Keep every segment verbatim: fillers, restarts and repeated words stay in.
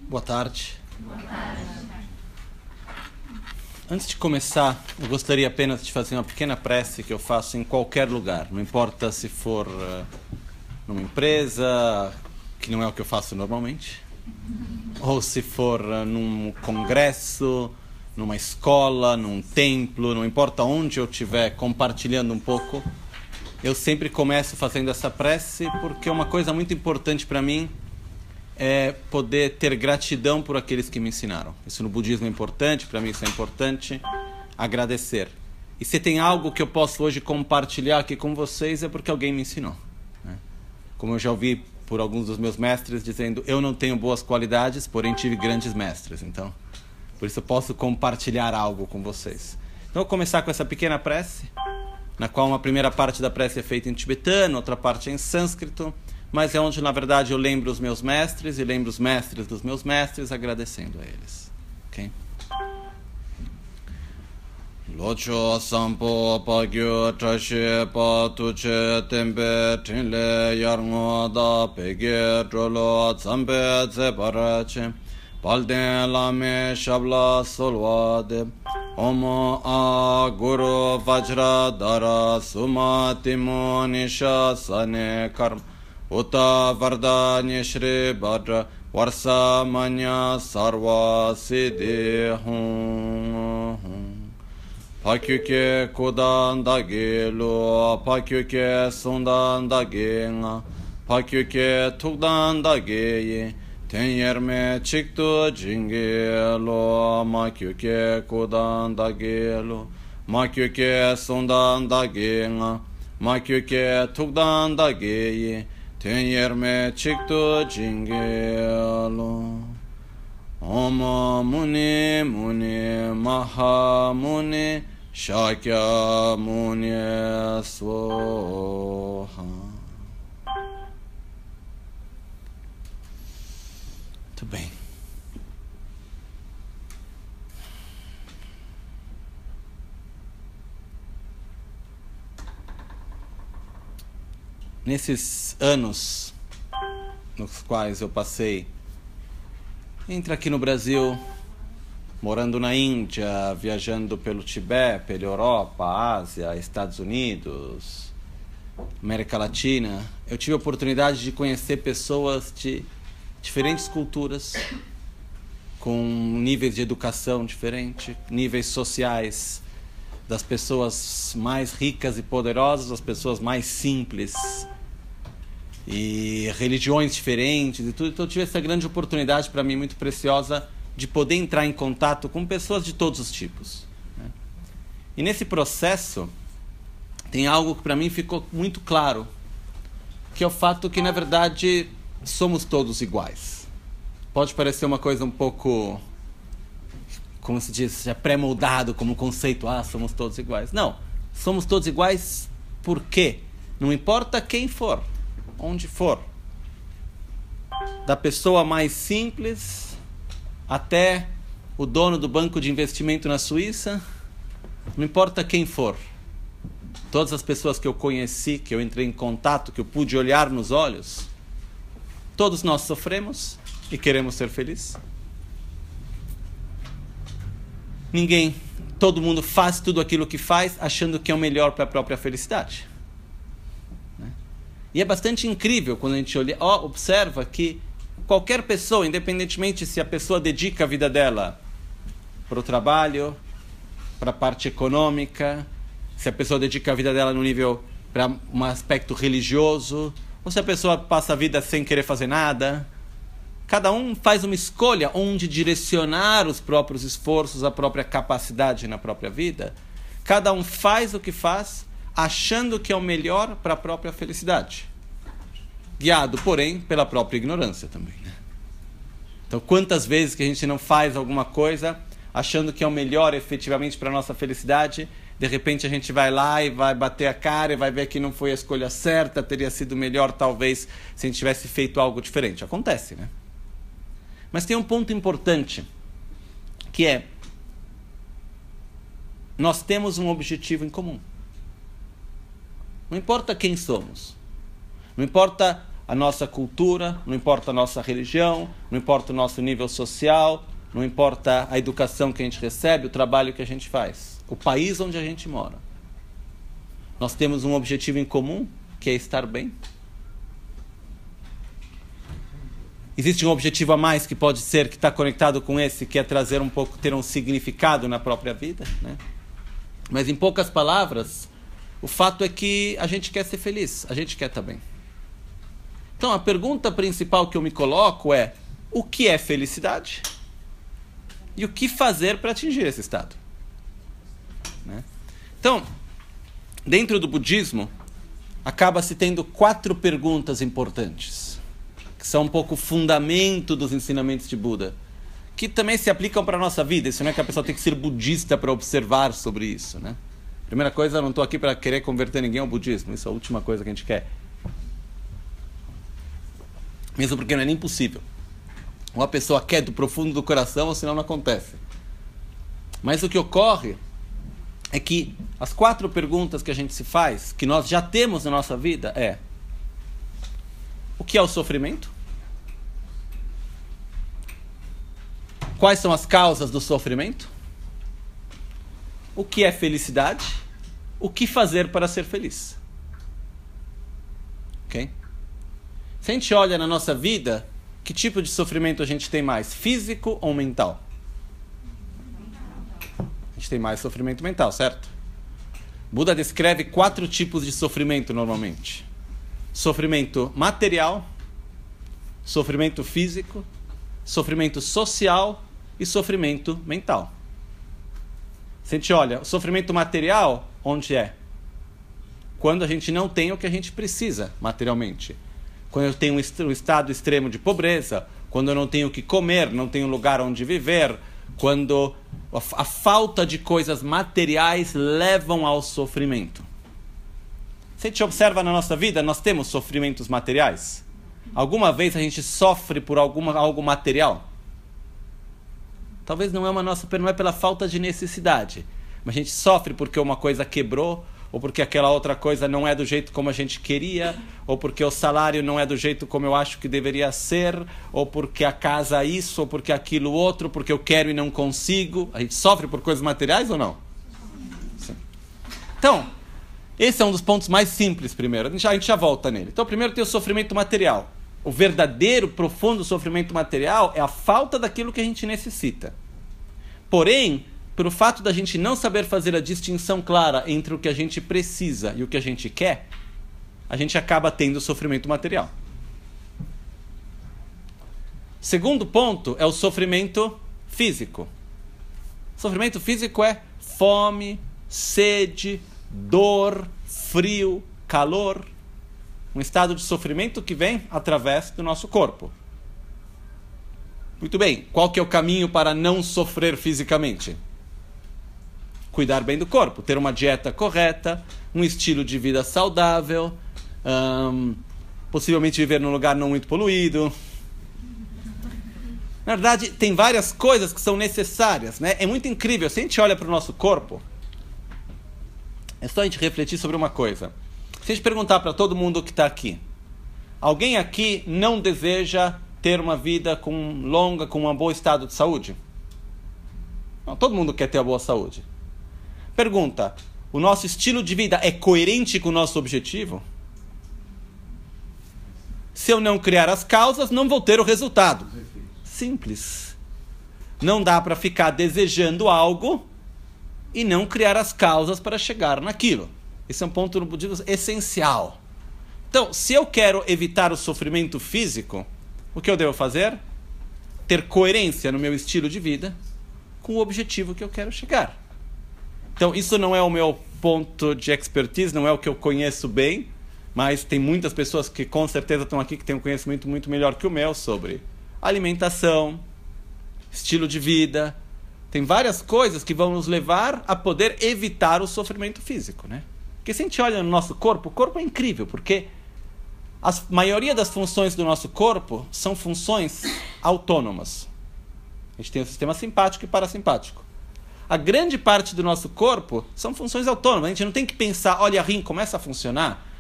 Boa tarde. Boa tarde. Antes de começar, eu gostaria apenas de fazer uma pequena prece que eu faço em qualquer lugar. Não importa se for uh, numa empresa, que não é o que eu faço normalmente, ou se for uh, num congresso, numa escola, num templo, não importa onde eu estiver compartilhando um pouco, eu sempre começo fazendo essa prece porque uma coisa muito importante para mim é poder ter gratidão por aqueles que me ensinaram. Isso no budismo é importante, para mim isso é importante, agradecer. E se tem algo que eu posso hoje compartilhar aqui com vocês é porque alguém me ensinou, né? Como eu já ouvi por alguns dos meus mestres dizendo, eu não tenho boas qualidades, porém tive grandes mestres. Então, por isso eu posso compartilhar algo com vocês. Então, eu vou começar com essa pequena prece, na qual uma primeira parte da prece é feita em tibetano, outra parte é em sânscrito, mas é onde, na verdade, eu lembro os meus mestres e lembro os mestres dos meus mestres, agradecendo a eles. Ok? Locho sampo pagyo trashe patuche tembe trinle yarngo da pege trolo zambe zebarache palden lame shabla solwade Omo a guru vajra dara sumati monisha sane karma Uta vardanya shri bhadra varsa manya sarva siddhi hum Pakyuke kudan da gelu pakyuke sundan da genga pakyuke tukdan da geyi tenyerme çıktı cingelo makyuke kudan da gelu makyuke sundan da genga makyuke tukdan da geyi tenyerme çıktı cingelo Om Muni Muni Maha Muni Shakya Muni Swaha. Muito bem. Nesses anos nos quais eu passei entre aqui no Brasil, morando na Índia, viajando pelo Tibete, pela Europa, Ásia, Estados Unidos, América Latina, eu tive a oportunidade de conhecer pessoas de diferentes culturas, com níveis de educação diferentes, níveis sociais, das pessoas mais ricas e poderosas às pessoas mais simples, e religiões diferentes e tudo. Então eu tive essa grande oportunidade para mim muito preciosa de poder entrar em contato com pessoas de todos os tipos, né? E nesse processo tem algo que para mim ficou muito claro, que é o fato que na verdade somos todos iguais. Pode parecer uma coisa um pouco, como se diz, já pré-moldado como conceito, ah, somos todos iguais. Não, somos todos iguais por quê? Não importa quem for, onde for, da pessoa mais simples até o dono do banco de investimento na Suíça, não importa quem for, todas as pessoas que eu conheci, que eu entrei em contato, que eu pude olhar nos olhos, todos nós sofremos e queremos ser felizes. Ninguém, todo mundo faz tudo aquilo que faz achando que é o melhor para a própria felicidade. E é bastante incrível quando a gente olha, ó, observa que qualquer pessoa, independentemente se a pessoa dedica a vida dela para o trabalho, para a parte econômica, se a pessoa dedica a vida dela no nível para um aspecto religioso, ou se a pessoa passa a vida sem querer fazer nada, cada um faz uma escolha onde direcionar os próprios esforços, a própria capacidade na própria vida. Cada um faz o que faz achando que é o melhor para a própria felicidade, guiado, porém, pela própria ignorância também, né? Então, quantas vezes que a gente não faz alguma coisa achando que é o melhor efetivamente para a nossa felicidade, de repente a gente vai lá e vai bater a cara e vai ver que não foi a escolha certa, teria sido melhor talvez se a gente tivesse feito algo diferente. Acontece, né? Mas tem um ponto importante, que é, nós temos um objetivo em comum. Não importa quem somos, não importa a nossa cultura, não importa a nossa religião, não importa o nosso nível social, não importa a educação que a gente recebe, o trabalho que a gente faz, o país onde a gente mora. Nós temos um objetivo em comum, que é estar bem. Existe um objetivo a mais que pode ser, que está conectado com esse, que é trazer um pouco, ter um significado na própria vida, né? Mas em poucas palavras, o fato é que a gente quer ser feliz, a gente quer estar bem. Então a pergunta principal que eu me coloco é: o que é felicidade? E o que fazer para atingir esse estado? Né? Então, dentro do budismo, acaba-se tendo quatro perguntas importantes, que são um pouco o fundamento dos ensinamentos de Buda, que também se aplicam para a nossa vida. Isso não é que a pessoa tem que ser budista para observar sobre isso, né? Primeira coisa, eu não estou aqui para querer converter ninguém ao budismo. Isso é a última coisa que a gente quer. Mesmo porque não é nem possível. Ou a pessoa quer do profundo do coração, ou senão não acontece. Mas o que ocorre é que as quatro perguntas que a gente se faz, que nós já temos na nossa vida, é: o que é o sofrimento? Quais são as causas do sofrimento? O que é felicidade? O que fazer para ser feliz? Ok? Se a gente olha na nossa vida, que tipo de sofrimento a gente tem mais? Físico ou mental? A gente tem mais sofrimento mental, certo? Buda descreve quatro tipos de sofrimento normalmente: sofrimento material, sofrimento físico, sofrimento social e sofrimento mental. Se a gente olha, o sofrimento material, onde é? Quando a gente não tem o que a gente precisa materialmente. Quando eu tenho um estado extremo de pobreza, quando eu não tenho o que comer, não tenho lugar onde viver, quando a, a falta de coisas materiais levam ao sofrimento. Se a gente observa na nossa vida, nós temos sofrimentos materiais? Alguma vez a gente sofre por alguma, algo material? Talvez não é uma nossa, não é pela falta de necessidade, mas a gente sofre porque uma coisa quebrou, ou porque aquela outra coisa não é do jeito como a gente queria, ou porque o salário não é do jeito como eu acho que deveria ser, ou porque a casa é isso, ou porque aquilo outro, porque eu quero e não consigo. A gente sofre por coisas materiais ou não? Sim. Então, esse é um dos pontos mais simples primeiro. A gente, já, a gente já volta nele. Então, primeiro tem o sofrimento material. O verdadeiro, profundo sofrimento material é a falta daquilo que a gente necessita. Porém, pelo fato da gente não saber fazer a distinção clara entre o que a gente precisa e o que a gente quer, a gente acaba tendo sofrimento material. Segundo ponto é o sofrimento físico. Sofrimento físico é fome, sede, dor, frio, calor. Um estado de sofrimento que vem através do nosso corpo. Muito bem, qual que é o caminho para não sofrer fisicamente? Cuidar bem do corpo, ter uma dieta correta, um estilo de vida saudável, hum, possivelmente viver num lugar não muito poluído. Na verdade, tem várias coisas que são necessárias, né? É muito incrível, se a gente olha para o nosso corpo, é só a gente refletir sobre uma coisa. Se a gente perguntar para todo mundo que está aqui, alguém aqui não deseja ter uma vida com, longa, com um bom estado de saúde? Não, todo mundo quer ter uma boa saúde. Pergunta, o nosso estilo de vida é coerente com o nosso objetivo? Se eu não criar as causas, não vou ter o resultado. Simples. Não dá para ficar desejando algo e não criar as causas para chegar naquilo. Esse é um ponto no budismo essencial. Então, se eu quero evitar o sofrimento físico, o que eu devo fazer? Ter coerência no meu estilo de vida com o objetivo que eu quero chegar. Então, isso não é o meu ponto de expertise, não é o que eu conheço bem, mas tem muitas pessoas que com certeza estão aqui que têm um conhecimento muito melhor que o meu sobre alimentação, estilo de vida. Tem várias coisas que vão nos levar a poder evitar o sofrimento físico, né? Porque se a gente olha no nosso corpo, o corpo é incrível, porque a maioria das funções do nosso corpo são funções autônomas. A gente tem o sistema simpático e parasimpático. A grande parte do nosso corpo são funções autônomas. A gente não tem que pensar, olha, rim começa a funcionar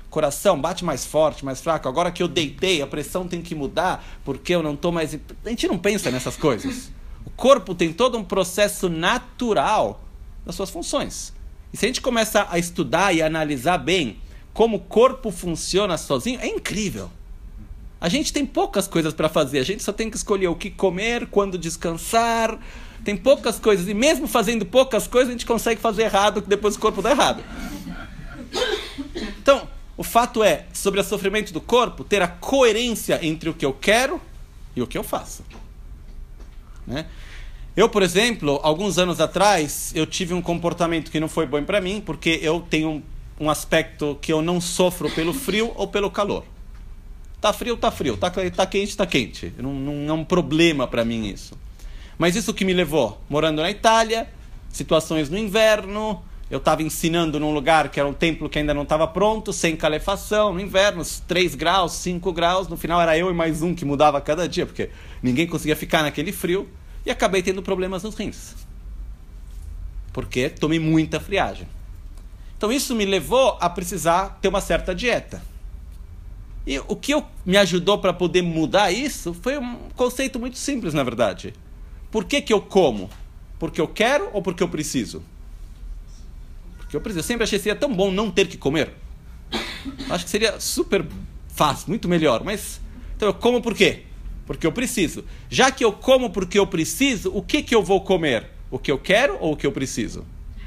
coração bate mais forte, mais fraco. Agora que eu deitei, a pressão tem que mudar, porque eu não estou mais... A gente não pensa nessas coisas. O corpo tem todo um processo natural das suas funções. E se a gente começa a estudar e a analisar bem como o corpo funciona sozinho, é incrível. A gente tem poucas coisas para fazer. A gente só tem que escolher o que comer, quando descansar. Tem poucas coisas. E mesmo fazendo poucas coisas, a gente consegue fazer errado, que depois o corpo dá errado. Então, o fato é, sobre o sofrimento do corpo, ter a coerência entre o que eu quero e o que eu faço. Né? Eu, por exemplo, alguns anos atrás, eu tive um comportamento que não foi bom para mim, porque eu tenho um, um aspecto que eu não sofro pelo frio ou pelo calor. Tá frio, tá frio. Tá, tá quente, tá quente. Não, não é um problema para mim isso. Mas isso que me levou, morando na Itália, situações no inverno, eu estava ensinando num lugar que era um templo que ainda não estava pronto, sem calefação, no inverno, três graus, cinco graus, no final era eu e mais um que mudava a cada dia, porque ninguém conseguia ficar naquele frio, e acabei tendo problemas nos rins. Porque tomei muita friagem. Então isso me levou a precisar ter uma certa dieta. E o que eu, me ajudou para poder mudar isso foi um conceito muito simples, na verdade. Por que que eu como? Porque eu quero ou porque eu preciso? Porque eu preciso. Eu sempre achei que seria tão bom não ter que comer. Acho que seria super fácil, muito melhor. Mas, então eu como por quê? Porque eu preciso. Já que eu como porque eu preciso, o que que eu vou comer? O que eu quero ou o que eu preciso?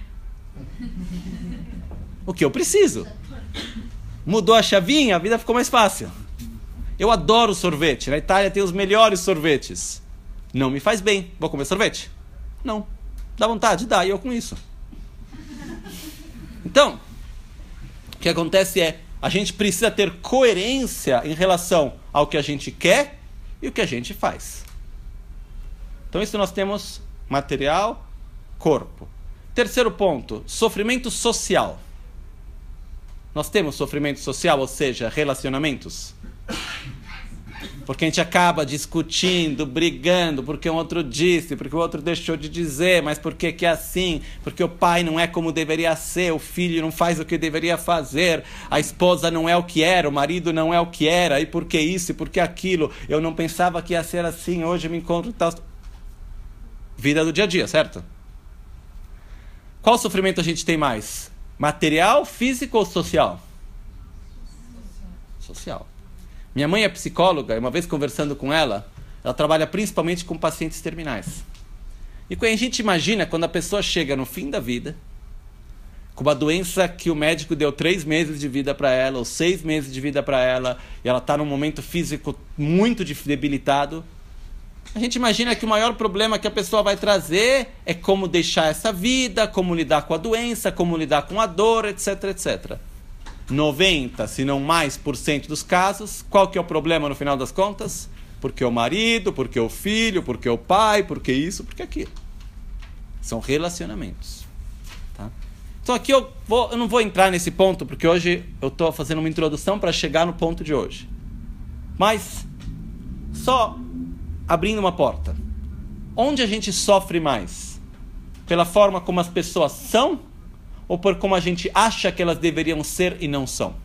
O que eu preciso. Mudou a chavinha, a vida ficou mais fácil. Eu adoro sorvete. Na Itália tem os melhores sorvetes. Não me faz bem. Vou comer sorvete? Não. Dá vontade? Dá. E eu com isso. Então, o que acontece é, a gente precisa ter coerência em relação ao que a gente quer e o que a gente faz. Então, isso nós temos material, corpo. Terceiro ponto, sofrimento social. Nós temos sofrimento social, ou seja, relacionamentos. Porque a gente acaba discutindo, brigando, porque o outro disse, porque o outro deixou de dizer, mas por que que é assim? Porque o pai não é como deveria ser, o filho não faz o que deveria fazer, a esposa não é o que era, o marido não é o que era, e por que isso, e por que aquilo? Eu não pensava que ia ser assim, hoje eu me encontro tal... Vida do dia a dia, certo? Qual sofrimento a gente tem mais? Material, físico ou social? Social. Minha mãe é psicóloga, e uma vez conversando com ela, ela trabalha principalmente com pacientes terminais. E quando a gente imagina, quando a pessoa chega no fim da vida, com uma doença que o médico deu três meses de vida para ela, ou seis meses de vida para ela, e ela está num momento físico muito debilitado, a gente imagina que o maior problema que a pessoa vai trazer é como deixar essa vida, como lidar com a doença, como lidar com a dor, etc, etcétera. noventa, se não mais por cento dos casos, qual que é o problema no final das contas? Porque o marido, porque o filho, porque o pai, porque isso, porque aquilo. São relacionamentos. Tá? Então aqui eu, vou, eu não vou entrar nesse ponto, porque hoje eu estou fazendo uma introdução para chegar no ponto de hoje. Mas, só abrindo uma porta. Onde a gente sofre mais? Pela forma como as pessoas são? Ou por como a gente acha que elas deveriam ser e não são?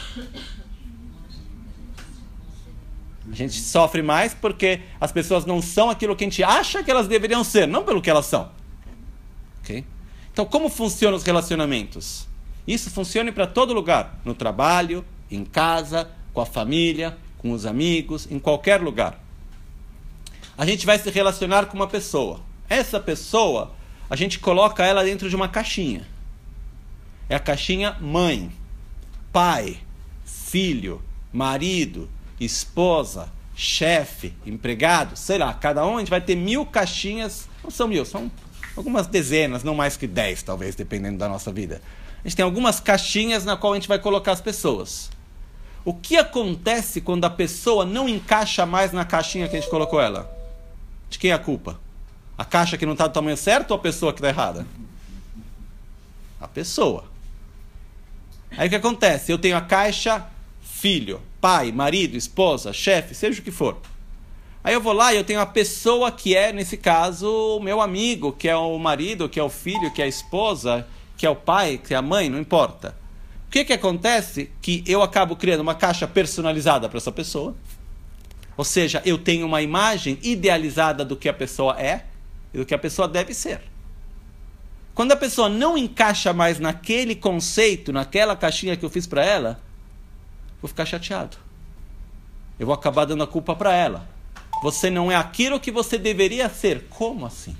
A gente sofre mais porque as pessoas não são aquilo que a gente acha que elas deveriam ser, não pelo que elas são. Okay? Então, como funcionam os relacionamentos? Isso funciona para todo lugar. No trabalho, em casa, com a família, com os amigos, em qualquer lugar. A gente vai se relacionar com uma pessoa. Essa pessoa, a gente coloca ela dentro de uma caixinha. É a caixinha mãe, pai, filho, marido, esposa, chefe, empregado, sei lá, cada um a gente vai ter mil caixinhas, não são mil, são algumas dezenas, não mais que dez talvez, dependendo da nossa vida. A gente tem algumas caixinhas na qual a gente vai colocar as pessoas. O que acontece quando a pessoa não encaixa mais na caixinha que a gente colocou ela? De quem é a culpa? A caixa que não está do tamanho certo ou a pessoa que está errada? A pessoa. Aí o que acontece? Eu tenho a caixa filho, pai, marido, esposa, chefe, seja o que for. Aí eu vou lá e eu tenho a pessoa que é, nesse caso, o meu amigo, que é o marido, que é o filho, que é a esposa, que é o pai, que é a mãe, não importa. que que acontece? Que eu acabo criando uma caixa personalizada para essa pessoa. Ou seja, eu tenho uma imagem idealizada do que a pessoa é e do que a pessoa deve ser. Quando a pessoa não encaixa mais naquele conceito, naquela caixinha que eu fiz para ela, vou ficar chateado. Eu vou acabar dando a culpa para ela. Você não é aquilo que você deveria ser. Como assim?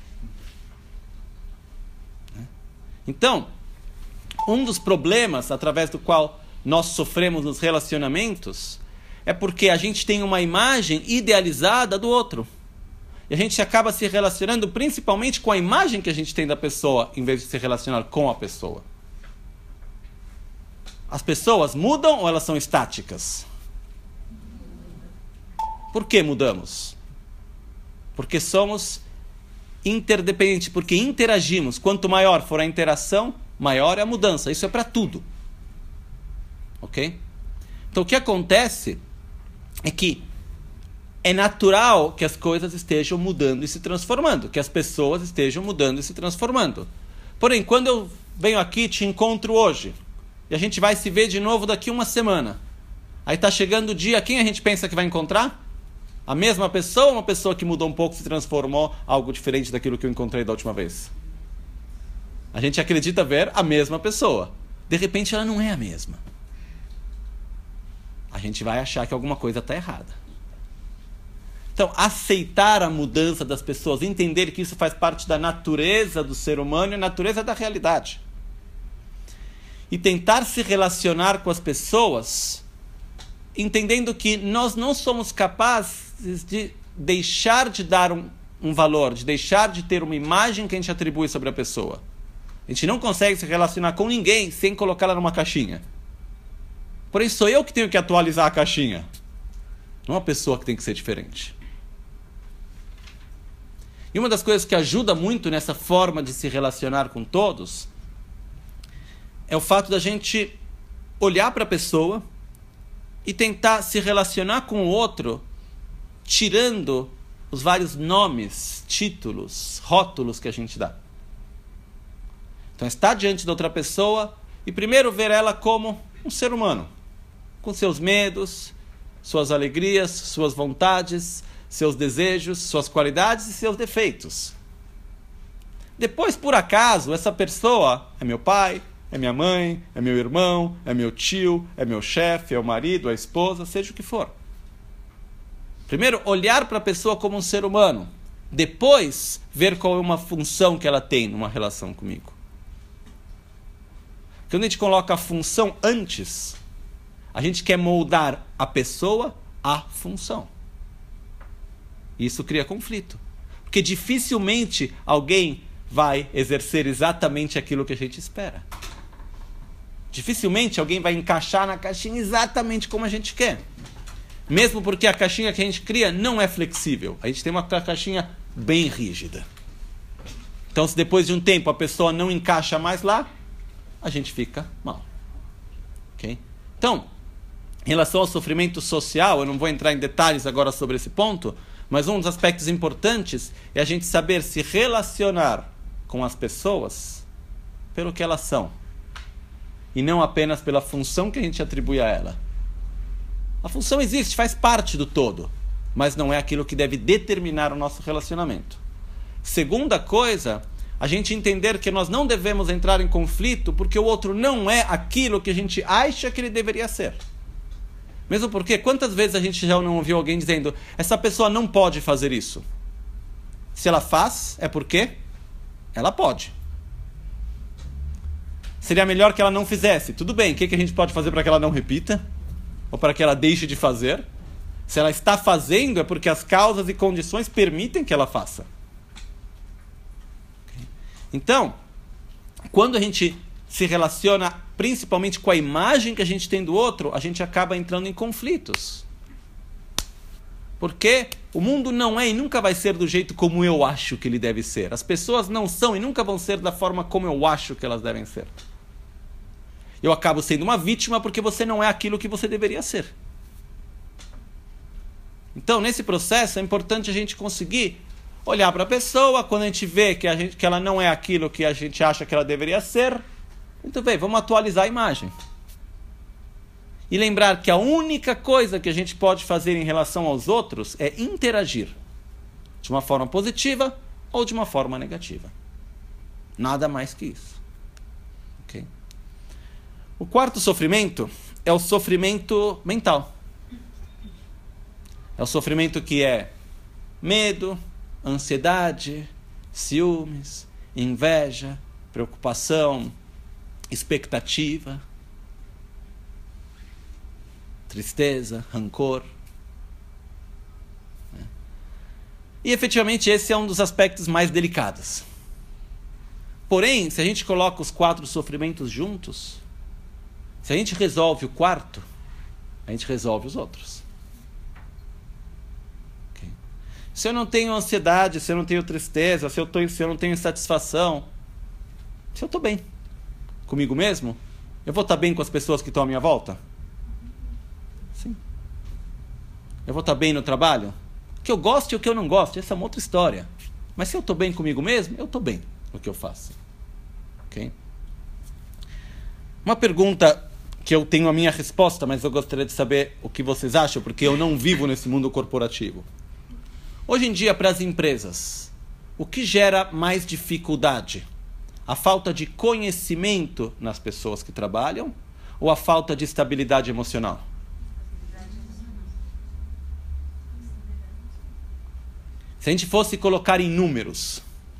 Então, um dos problemas através do qual nós sofremos nos relacionamentos é porque a gente tem uma imagem idealizada do outro. E a gente acaba se relacionando principalmente com a imagem que a gente tem da pessoa, em vez de se relacionar com a pessoa. As pessoas mudam ou elas são estáticas? Por que mudamos? Porque somos interdependentes, porque interagimos. Quanto maior for a interação, maior é a mudança. Isso é para tudo. Ok? Então o que acontece é que é natural que as coisas estejam mudando e se transformando, que as pessoas estejam mudando e se transformando. Porém, quando eu venho aqui, te encontro hoje, e a gente vai se ver de novo daqui uma semana, aí está chegando o dia, quem a gente pensa que vai encontrar? A mesma pessoa ou uma pessoa que mudou um pouco, se transformou algo diferente daquilo que eu encontrei da última vez? A gente acredita ver a mesma pessoa. De repente ela não é a mesma. A gente vai achar que alguma coisa está errada. Então, aceitar a mudança das pessoas, entender que isso faz parte da natureza do ser humano e a natureza da realidade. E tentar se relacionar com as pessoas, entendendo que nós não somos capazes de deixar de dar um, um valor, de deixar de ter uma imagem que a gente atribui sobre a pessoa. A gente não consegue se relacionar com ninguém sem colocá-la numa caixinha. Porém, sou eu que tenho que atualizar a caixinha. Não a pessoa que tem que ser diferente. E uma das coisas que ajuda muito nessa forma de se relacionar com todos é o fato da gente olhar para a pessoa e tentar se relacionar com o outro tirando os vários nomes, títulos, rótulos que a gente dá. Então, estar diante da outra pessoa e primeiro ver ela como um ser humano, com seus medos, suas alegrias, suas vontades, seus desejos, suas qualidades e seus defeitos. Depois, por acaso, essa pessoa é meu pai, é minha mãe, é meu irmão, é meu tio, é meu chefe, é o marido, é a esposa, seja o que for. Primeiro, olhar para a pessoa como um ser humano. Depois, ver qual é uma função que ela tem numa relação comigo. Quando a gente coloca a função antes, a gente quer moldar a pessoa à função. Isso cria conflito. Porque dificilmente alguém vai exercer exatamente aquilo que a gente espera. Dificilmente alguém vai encaixar na caixinha exatamente como a gente quer. Mesmo porque a caixinha que a gente cria não é flexível. A gente tem uma caixinha bem rígida. Então, se depois de um tempo a pessoa não encaixa mais lá, a gente fica mal. Okay? Então, em relação ao sofrimento social, eu não vou entrar em detalhes agora sobre esse ponto, mas um dos aspectos importantes é a gente saber se relacionar com as pessoas pelo que elas são. E não apenas pela função que a gente atribui a ela. A função existe, faz parte do todo, mas não é aquilo que deve determinar o nosso relacionamento. Segunda coisa, a gente entender que nós não devemos entrar em conflito porque o outro não é aquilo que a gente acha que ele deveria ser. Mesmo porque, quantas vezes a gente já não ouviu alguém dizendo essa pessoa não pode fazer isso? Se ela faz, é porque ela pode. Seria melhor que ela não fizesse. Tudo bem, o que a gente pode fazer para que ela não repita? Ou para que ela deixe de fazer? Se ela está fazendo, é porque as causas e condições permitem que ela faça. Então, quando a gente se relaciona principalmente com a imagem que a gente tem do outro, a gente acaba entrando em conflitos. Porque o mundo não é e nunca vai ser do jeito como eu acho que ele deve ser. As pessoas não são e nunca vão ser da forma como eu acho que elas devem ser. Eu acabo sendo uma vítima porque você não é aquilo que você deveria ser. Então, nesse processo, é importante a gente conseguir olhar para a pessoa, quando a gente vê que, a gente, que ela não é aquilo que a gente acha que ela deveria ser, Muito bem, vamos atualizar a imagem. E lembrar que a única coisa que a gente pode fazer em relação aos outros é interagir. De uma forma positiva ou de uma forma negativa. Nada mais que isso. Okay? O quarto sofrimento é o sofrimento mental. É o sofrimento que é medo, ansiedade, ciúmes, inveja, preocupação, expectativa, tristeza, rancor. E efetivamente esse é um dos aspectos mais delicados. Porém, se a gente coloca os quatro sofrimentos juntos, se a gente resolve o quarto, a gente resolve os outros. Okay? Se eu não tenho ansiedade, se eu não tenho tristeza, se eu, tô, se eu não tenho insatisfação, se eu estou bem comigo mesmo, eu vou estar bem com as pessoas que estão à minha volta? Sim. Eu vou estar bem no trabalho? O que eu gosto e o que eu não gosto, essa é uma outra história. Mas se eu estou bem comigo mesmo, eu estou bem no que eu faço. Okay? Uma pergunta que eu tenho a minha resposta, mas eu gostaria de saber o que vocês acham, porque eu não vivo nesse mundo corporativo. Hoje em dia, para as empresas, o que gera mais dificuldade? A falta de conhecimento nas pessoas que trabalham ou a falta de estabilidade emocional? Se a gente fosse colocar em números,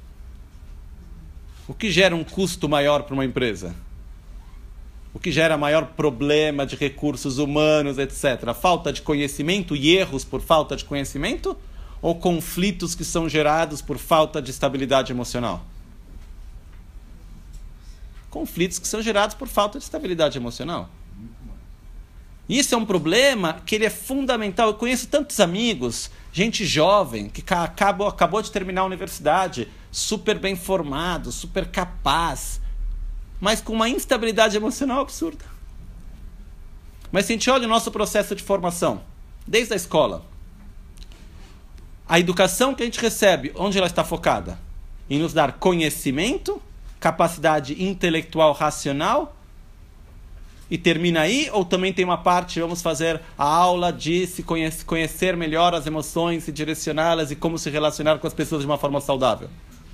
o que gera um custo maior para uma empresa? O que gera maior problema de recursos humanos, etcétera? A falta de conhecimento e erros por falta de conhecimento? Ou conflitos que são gerados por falta de estabilidade emocional? Conflitos que são gerados por falta de estabilidade emocional. Isso é um problema que ele é fundamental. Eu conheço tantos amigos, gente jovem, que acabou, acabou de terminar a universidade, super bem formado, super capaz, mas com uma instabilidade emocional absurda. Mas se a gente olha o nosso processo de formação, desde a escola, a educação que a gente recebe, onde ela está focada? Em nos dar conhecimento, capacidade intelectual racional, e termina aí, ou também tem uma parte, vamos fazer a aula de se conhecer, conhecer melhor as emoções, se direcioná-las e como se relacionar com as pessoas de uma forma saudável?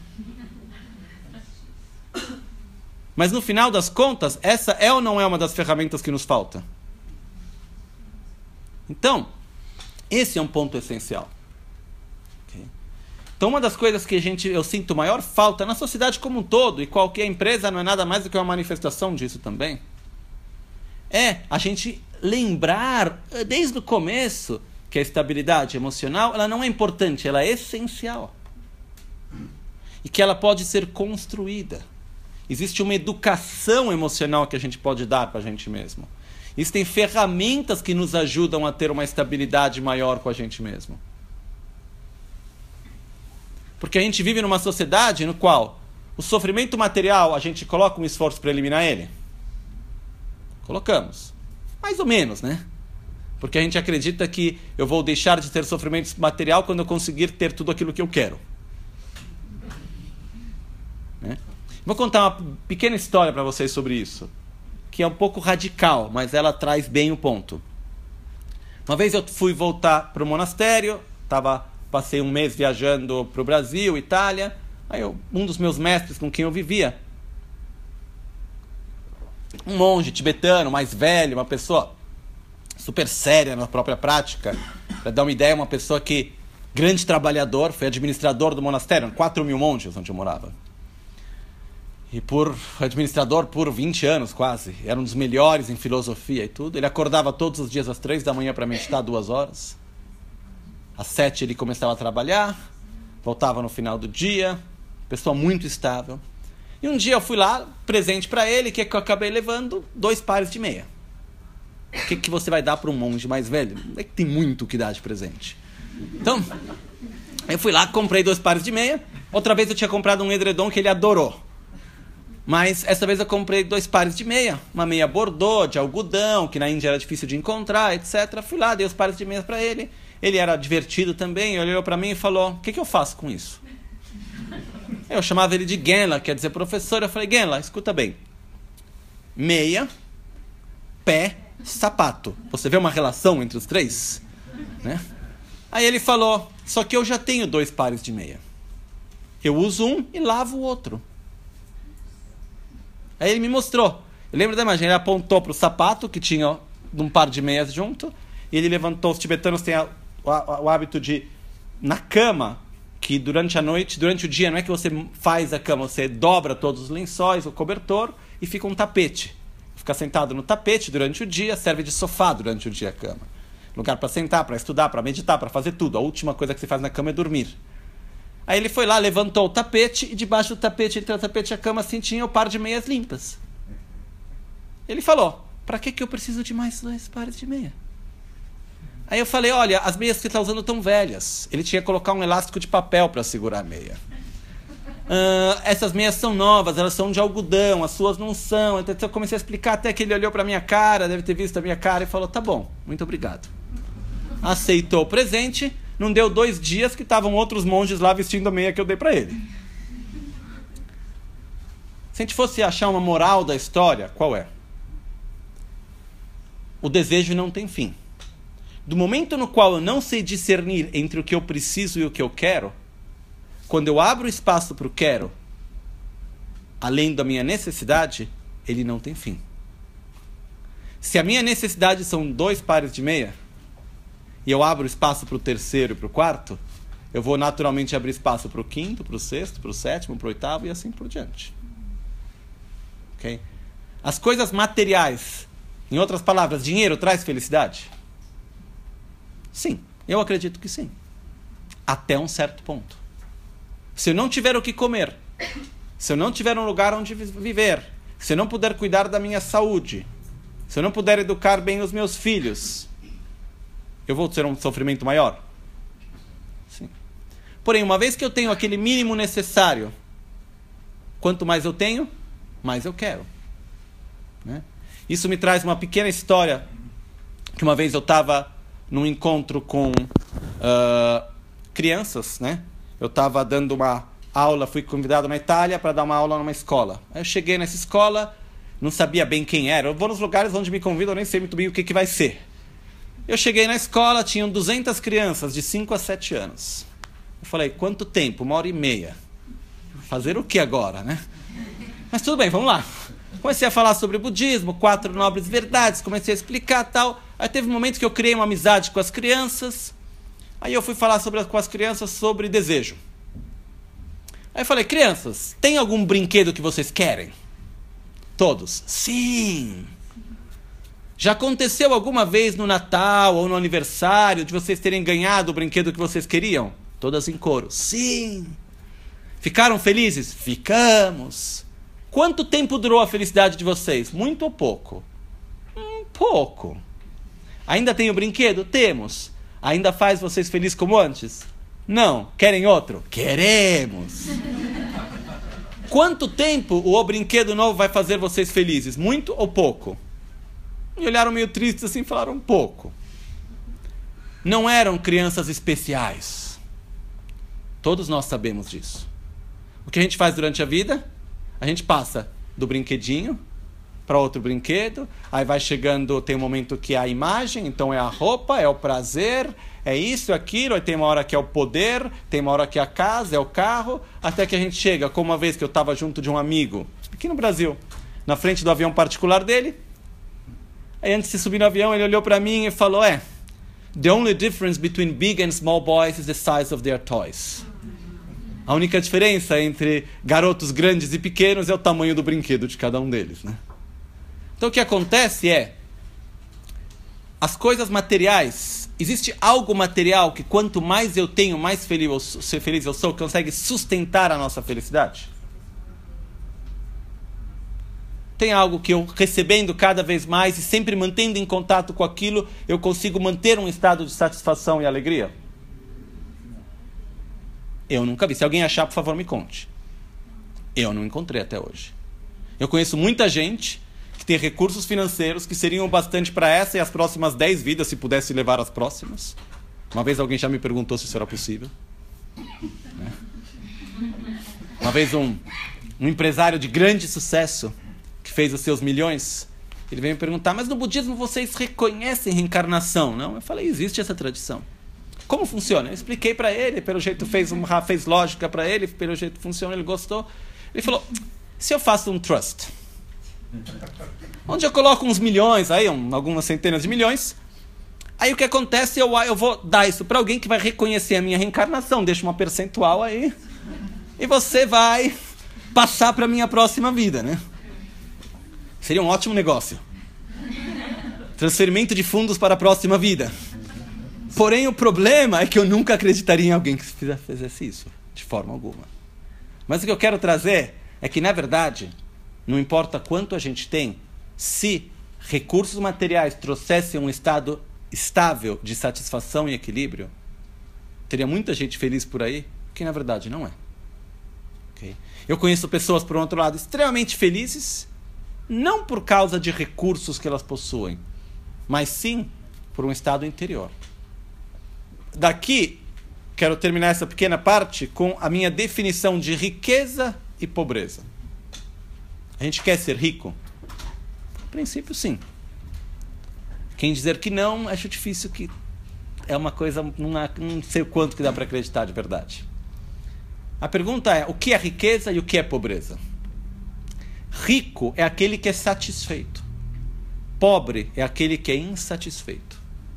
Mas no final das contas, essa é ou não é uma das ferramentas que nos falta? Então, esse é um ponto essencial. Okay? Então, uma das coisas que a gente, eu sinto maior falta na sociedade como um todo, e qualquer empresa não é nada mais do que uma manifestação disso também, é a gente lembrar, desde o começo, que a estabilidade emocional ela não é importante, ela é essencial. E que ela pode ser construída. Existe uma educação emocional que a gente pode dar para a gente mesmo. Existem ferramentas que nos ajudam a ter uma estabilidade maior com a gente mesmo. Porque a gente vive numa sociedade no qual o sofrimento material, a gente coloca um esforço para eliminar ele? Colocamos. Mais ou menos, né? Porque a gente acredita que eu vou deixar de ter sofrimento material quando eu conseguir ter tudo aquilo que eu quero. Né? Vou contar uma pequena história para vocês sobre isso, que é um pouco radical, mas ela traz bem o ponto. Uma vez eu fui voltar para o monastério, tava, passei um mês viajando para o Brasil, Itália, aí eu, um dos meus mestres com quem eu vivia, um monge tibetano, mais velho, uma pessoa super séria na própria prática. Para dar uma ideia, uma pessoa que, grande trabalhador, foi administrador do monastério, quatro mil monges onde eu morava. E por administrador por vinte anos quase. Era um dos melhores em filosofia e tudo. Ele acordava todos os dias às três da manhã para meditar duas horas. Às sete ele começava a trabalhar, voltava no final do dia. Pessoa muito estável. E um dia eu fui lá, presente para ele, que, é que eu acabei levando dois pares de meia. O que, que você vai dar para um monge mais velho? É que tem muito que dar de presente. Então, eu fui lá, comprei dois pares de meia. Outra vez eu tinha comprado um edredom que ele adorou. Mas essa vez eu comprei dois pares de meia. Uma meia bordô, de algodão, que na Índia era difícil de encontrar, etcétera. Fui lá, dei os pares de meia para ele. Ele era divertido também, ele olhou para mim e falou, o que, que eu faço com isso? Eu chamava ele de Genla, quer dizer professor. Eu falei, Genla, escuta bem. meia, pé, sapato. Você vê uma relação entre os três? Né? Aí ele falou, só que eu já tenho dois pares de meia. Eu uso um e lavo o outro. Aí ele me mostrou. Eu lembro da imagem, ele apontou para o sapato, que tinha um par de meias junto, e ele levantou, os tibetanos têm a, o, o hábito de, na cama, que durante a noite, durante o dia, não é que você faz a cama, você dobra todos os lençóis, o cobertor, e fica um tapete. Fica sentado no tapete durante o dia, serve de sofá durante o dia a cama. Lugar para sentar, para estudar, para meditar, para fazer tudo. A última coisa que você faz na cama é dormir. Aí ele foi lá, levantou o tapete, e debaixo do tapete, entre o tapete e a cama, assim, tinha o par de meias limpas. Ele falou, para que que eu preciso de mais dois pares de meia? Aí eu falei, olha, as meias que você está usando estão velhas. Ele tinha que colocar um elástico de papel para segurar a meia. Uh, essas meias são novas, elas são de algodão, as suas não são. Então eu comecei a explicar, até que ele olhou para a minha cara, deve ter visto a minha cara, e falou, tá bom, muito obrigado. Aceitou o presente, não deu dois dias que estavam outros monges lá vestindo a meia que eu dei para ele. Se a gente fosse achar uma moral da história, qual é? O desejo não tem fim. Do momento no qual eu não sei discernir entre o que eu preciso e o que eu quero, quando eu abro espaço para o quero, além da minha necessidade, ele não tem fim. Se a minha necessidade são dois pares de meia, e eu abro espaço para o terceiro e para o quarto, eu vou naturalmente abrir espaço para o quinto, para o sexto, para o sétimo, para o oitavo e assim por diante. Okay? As coisas materiais, em outras palavras, dinheiro traz felicidade? Sim, eu acredito que sim. Até um certo ponto. Se eu não tiver o que comer, se eu não tiver um lugar onde viver, se eu não puder cuidar da minha saúde, se eu não puder educar bem os meus filhos, eu vou ter um sofrimento maior? Sim. Porém, uma vez que eu tenho aquele mínimo necessário, quanto mais eu tenho, mais eu quero. Né? Isso me traz uma pequena história, que uma vez eu estava num encontro com uh, crianças, né? Eu estava dando uma aula, fui convidado na Itália para dar uma aula numa escola. Aí eu cheguei nessa escola, não sabia bem quem era. Eu vou nos lugares onde me convidam, eu nem sei muito bem o que, que vai ser. Eu cheguei na escola, tinham duzentas crianças de cinco a sete anos. Eu falei, quanto tempo? Uma hora e meia. Fazer o que agora, né? Mas tudo bem, vamos lá. Comecei a falar sobre budismo, quatro nobres verdades, comecei a explicar tal. Aí teve um momento que eu criei uma amizade com as crianças. Aí eu fui falar sobre, com as crianças sobre desejo. Aí eu falei, crianças, tem algum brinquedo que vocês querem? Todos. Sim. Já aconteceu alguma vez no Natal ou no aniversário de vocês terem ganhado o brinquedo que vocês queriam? Todas em coro. Sim. Ficaram felizes? Ficamos. Quanto tempo durou a felicidade de vocês? Muito ou pouco? Um pouco. Ainda tem o brinquedo? Temos. Ainda faz vocês felizes como antes? Não. Querem outro? Queremos. Quanto tempo o brinquedo novo vai fazer vocês felizes? Muito ou pouco? E olharam meio tristes assim e falaram um pouco. Não eram crianças especiais. Todos nós sabemos disso. O que a gente faz durante a vida? A gente passa do brinquedinho para outro brinquedo, aí vai chegando, tem um momento que é a imagem, então é a roupa, é o prazer, é isso, é aquilo, aí tem uma hora que é o poder, tem uma hora que é a casa, é o carro, até que a gente chega, como uma vez que eu estava junto de um amigo, aqui no Brasil, na frente do avião particular dele, aí antes de subir no avião, ele olhou para mim e falou, é, the only difference between big and small boys is the size of their toys. A única diferença entre garotos grandes e pequenos é o tamanho do brinquedo de cada um deles, né? Então o que acontece é, as coisas materiais, existe algo material que quanto mais eu tenho, mais feliz eu sou, ser feliz eu sou, que consegue sustentar a nossa felicidade? Tem algo que eu recebendo cada vez mais e sempre mantendo em contato com aquilo, eu consigo manter um estado de satisfação e alegria? Eu nunca vi. Se alguém achar, por favor, me conte. Eu não encontrei até hoje. Eu conheço muita gente que tem recursos financeiros que seriam bastante para essa e as próximas dez vidas, se pudesse levar as próximas. Uma vez alguém já me perguntou se isso era possível. Né? Uma vez um, um empresário de grande sucesso, que fez os seus milhões, ele veio me perguntar, mas no budismo vocês reconhecem reencarnação? Não? Eu falei, existe essa tradição. Como funciona? Eu expliquei para ele, pelo jeito fez, um, fez lógica para ele, pelo jeito funciona, ele gostou. Ele falou, se eu faço um trust, onde eu coloco uns milhões, aí, um, algumas centenas de milhões, aí o que acontece, eu, eu vou dar isso para alguém que vai reconhecer a minha reencarnação, deixa uma percentual aí, e você vai passar para a minha próxima vida, né? Seria um ótimo negócio. Transferimento de fundos para a próxima vida. Porém, o problema é que eu nunca acreditaria em alguém que fizesse isso, de forma alguma. Mas o que eu quero trazer é que, na verdade, não importa quanto a gente tem, se recursos materiais trouxessem um estado estável de satisfação e equilíbrio, teria muita gente feliz por aí, que na verdade não é. Okay? Eu conheço pessoas, por outro lado, extremamente felizes, não por causa de recursos que elas possuem, mas sim por um estado interior. Daqui, quero terminar essa pequena parte com a minha definição de riqueza e pobreza. A gente quer ser rico? No princípio, sim. Quem dizer que não, acho difícil, que é uma coisa, não, não sei o quanto que dá para acreditar de verdade. A pergunta é, o que é riqueza e o que é pobreza? Rico é aquele que é satisfeito. Pobre é aquele que é insatisfeito.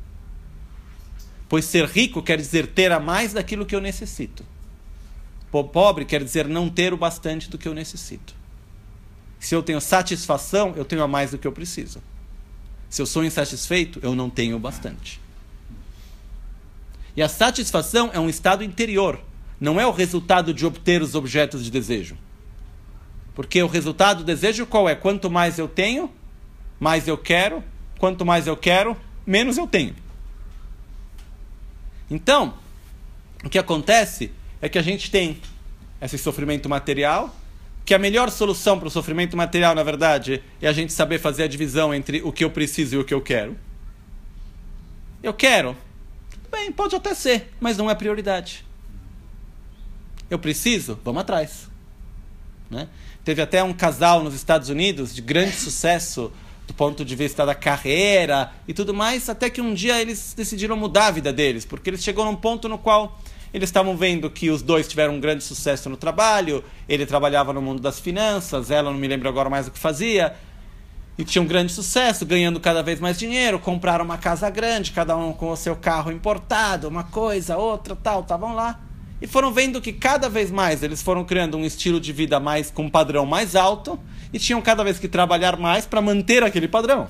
Pois ser rico quer dizer ter a mais daquilo que eu necessito. Pobre quer dizer não ter o bastante do que eu necessito. Se eu tenho satisfação, eu tenho a mais do que eu preciso. Se eu sou insatisfeito, eu não tenho o bastante. E a satisfação é um estado interior. Não é o resultado de obter os objetos de desejo. Porque o resultado do desejo qual é? Quanto mais eu tenho, mais eu quero. Quanto mais eu quero, menos eu tenho. Então, o que acontece é que a gente tem esse sofrimento material, que a melhor solução para o sofrimento material, na verdade, é a gente saber fazer a divisão entre o que eu preciso e o que eu quero. Eu quero? Bem, pode até ser, mas não é prioridade. Eu preciso? Vamos atrás. Né? Teve até um casal nos Estados Unidos de grande sucesso do ponto de vista da carreira e tudo mais, até que um dia eles decidiram mudar a vida deles, porque eles chegaram num ponto no qual eles estavam vendo que os dois tiveram um grande sucesso no trabalho, ele trabalhava no mundo das finanças, ela não me lembro agora mais o que fazia, e tinha um grande sucesso, ganhando cada vez mais dinheiro, compraram uma casa grande, cada um com o seu carro importado, uma coisa, outra, tal, estavam lá, e foram vendo que cada vez mais eles foram criando um estilo de vida mais com um padrão mais alto, e tinham cada vez que trabalhar mais para manter aquele padrão.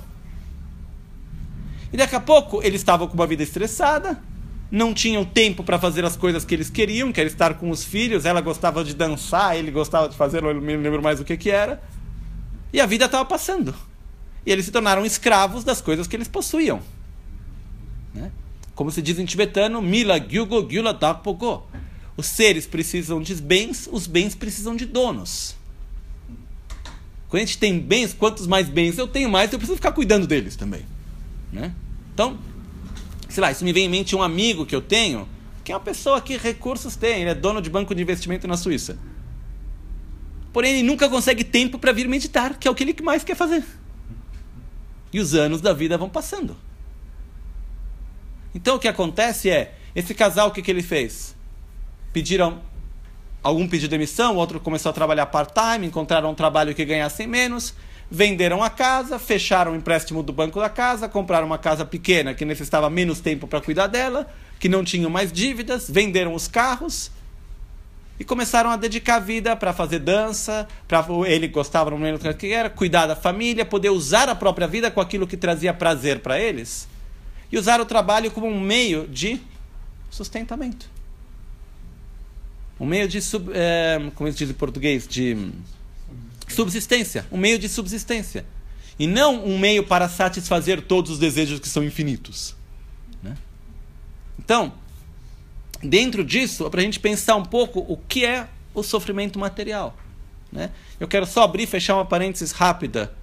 E daqui a pouco eles estavam com uma vida estressada, não tinham tempo para fazer as coisas que eles queriam, que era estar com os filhos, ela gostava de dançar, ele gostava de fazer, eu não me lembro mais o que que era, e a vida estava passando. E eles se tornaram escravos das coisas que eles possuíam. Né? Como se diz em tibetano, Mila Gyugo Gyula Dakpogo. Os seres precisam de bens, os bens precisam de donos. Quando a gente tem bens, quantos mais bens eu tenho, mais eu preciso ficar cuidando deles também. Né? Então, sei lá, isso me vem em mente um amigo que eu tenho, que é uma pessoa que recursos tem, ele é dono de banco de investimento na Suíça. Porém, ele nunca consegue tempo para vir meditar, que é o que ele mais quer fazer. E os anos da vida vão passando. Então, o que acontece é, esse casal, o que, que ele fez? Pediram, algum pediu demissão, o outro começou a trabalhar part-time, encontraram um trabalho que ganhassem menos, venderam a casa, fecharam o empréstimo do banco da casa, compraram uma casa pequena que necessitava menos tempo para cuidar dela, que não tinham mais dívidas, venderam os carros e começaram a dedicar a vida para fazer dança, para ele gostava, não lembro o que era, cuidar da família, poder usar a própria vida com aquilo que trazia prazer para eles e usar o trabalho como um meio de sustentamento. Um meio de, sub, é, como se diz em português, de subsistência. Um meio de subsistência. E não um meio para satisfazer todos os desejos que são infinitos. Né? Então, dentro disso, é para a gente pensar um pouco o que é o sofrimento material. Né? Eu quero só abrir e fechar uma parênteses rápida.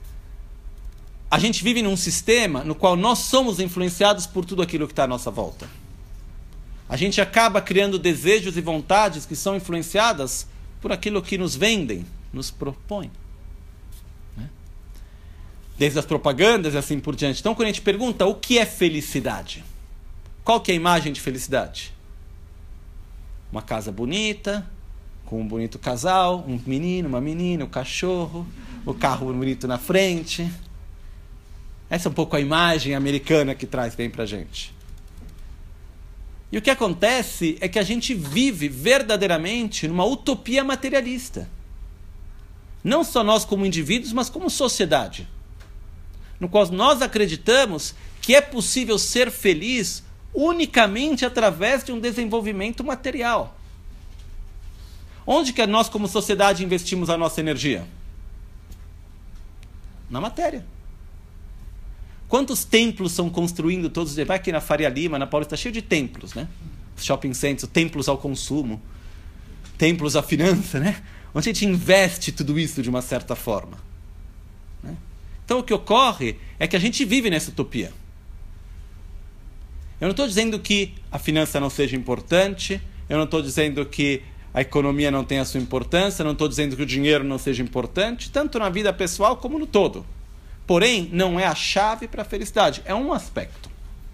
A gente vive num sistema no qual nós somos influenciados por tudo aquilo que está à nossa volta. A gente acaba criando desejos e vontades que são influenciadas por aquilo que nos vendem, nos propõem. Né? desde as propagandas e assim por diante. Então, quando a gente pergunta o que é felicidade, qual que é a imagem de felicidade? Uma casa bonita, com um bonito casal, um menino, uma menina, um cachorro, o carro bonito na frente. Essa é um pouco a imagem americana que traz bem pra gente. E o que acontece é que a gente vive verdadeiramente numa utopia materialista. Não só nós como indivíduos, mas como sociedade. No qual nós acreditamos que é possível ser feliz unicamente através de um desenvolvimento material. Onde que nós como sociedade investimos a nossa energia? Na matéria. Quantos templos são construindo todos os dias? Vai aqui na Faria Lima, na Paulista, está cheio de templos, né? Shopping centers, templos ao consumo, templos à finança, né? Onde a gente investe tudo isso de uma certa forma. Né? Então o que ocorre é que a gente vive nessa utopia. Eu não estou dizendo que a finança não seja importante, eu não estou dizendo que a economia não tenha a sua importância, eu não estou dizendo que o dinheiro não seja importante, tanto na vida pessoal como no todo. Porém, não é a chave para a felicidade, é um aspecto.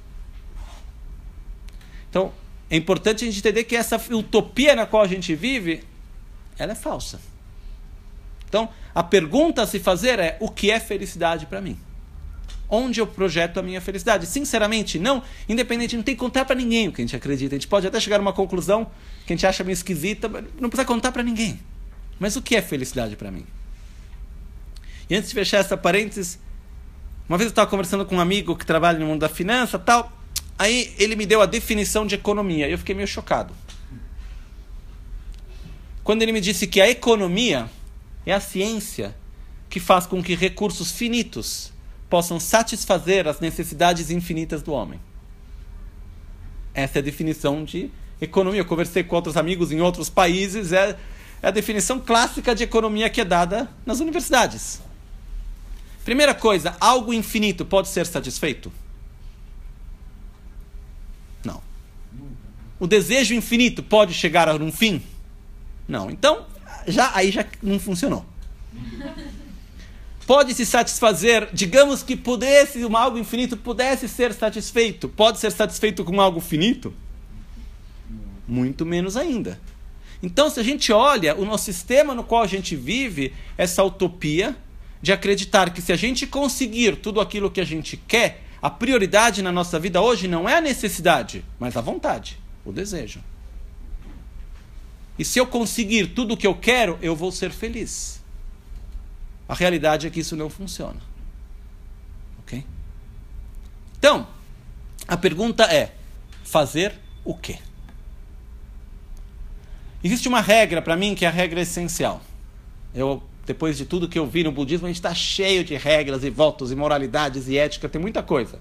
Então, é importante a gente entender que essa utopia na qual a gente vive, ela é falsa. Então, a pergunta a se fazer é, o que é felicidade para mim? Onde eu projeto a minha felicidade? Sinceramente, não, independente, não tem que contar para ninguém o que a gente acredita. A gente pode até chegar a uma conclusão que a gente acha meio esquisita, mas não precisa contar para ninguém. Mas o que é felicidade para mim? E antes de fechar essa parênteses, uma vez eu estava conversando com um amigo que trabalha no mundo da finança, tal, aí ele me deu a definição de economia, e eu fiquei meio chocado. Quando ele me disse que a economia é a ciência que faz com que recursos finitos possam satisfazer as necessidades infinitas do homem. Essa é a definição de economia. Eu conversei com outros amigos em outros países, é, é a definição clássica de economia que é dada nas universidades. Primeira coisa, algo infinito pode ser satisfeito? Não. O desejo infinito pode chegar a um fim? Não. Então, já, aí já não funcionou. Pode se satisfazer, digamos que pudesse, um algo infinito pudesse ser satisfeito. Pode ser satisfeito com algo finito? Muito menos ainda. Então, se a gente olha o nosso sistema no qual a gente vive, essa utopia de acreditar que se a gente conseguir tudo aquilo que a gente quer, a prioridade na nossa vida hoje não é a necessidade, mas a vontade, o desejo. E se eu conseguir tudo o que eu quero, eu vou ser feliz. A realidade é que isso não funciona. Ok? Então, a pergunta é, fazer o quê? Existe uma regra para mim que é a regra essencial. Eu, depois de tudo que eu vi no budismo, a gente está cheio de regras e votos e moralidades e ética, tem muita coisa.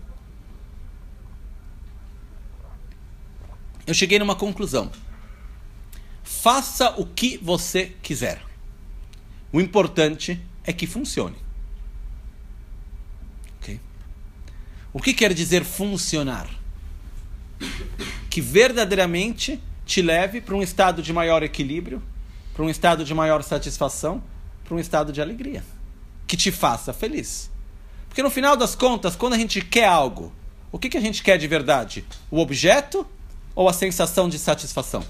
Eu cheguei numa conclusão. Faça o que você quiser. O importante é que funcione. Okay? O que quer dizer funcionar? Que verdadeiramente te leve para um estado de maior equilíbrio, para um estado de maior satisfação, para um estado de alegria. Que te faça feliz. Porque no final das contas, quando a gente quer algo, o que, que a gente quer de verdade? O objeto ou a sensação de satisfação?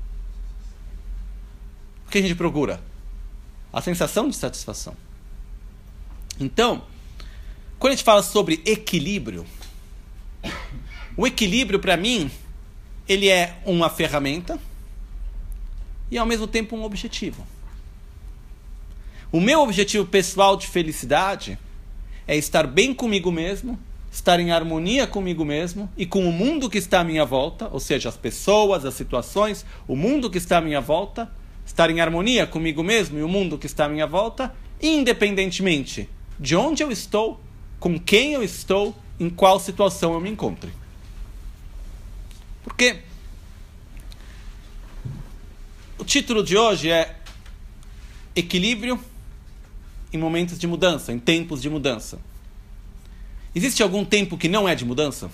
O que a gente procura? A sensação de satisfação. Então, quando a gente fala sobre equilíbrio, o equilíbrio para mim, ele é uma ferramenta e ao mesmo tempo um objetivo. O meu objetivo pessoal de felicidade é estar bem comigo mesmo, estar em harmonia comigo mesmo e com o mundo que está à minha volta, ou seja, as pessoas, as situações, o mundo que está à minha volta, estar em harmonia comigo mesmo e o mundo que está à minha volta, independentemente de onde eu estou, com quem eu estou, em qual situação eu me encontre. Porque o título de hoje é Equilíbrio em momentos de mudança, em tempos de mudança. Existe algum tempo que não é de mudança?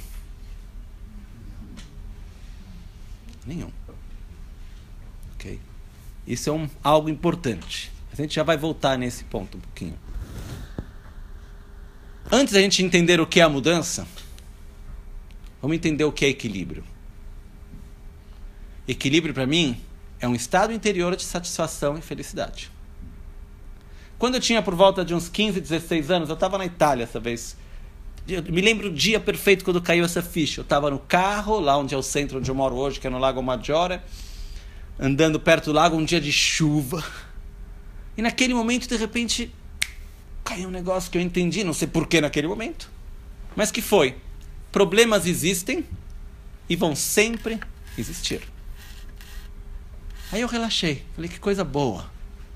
Nenhum. Ok? Isso é um, algo importante. A gente já vai voltar nesse ponto um pouquinho. Antes da gente entender o que é a mudança, vamos entender o que é equilíbrio. Equilíbrio, para mim, é um estado interior de satisfação e felicidade. Quando eu tinha por volta de uns quinze, dezesseis anos, eu estava na Itália essa vez. Eu me lembro o dia perfeito quando caiu essa ficha. Eu estava no carro, lá onde é o centro onde eu moro hoje, que é no Lago Maggiore, andando perto do lago, um dia de chuva. E naquele momento, de repente, caiu um negócio que eu entendi, não sei porquê naquele momento, mas que foi: problemas existem e vão sempre existir. Aí eu relaxei, falei, que coisa boa.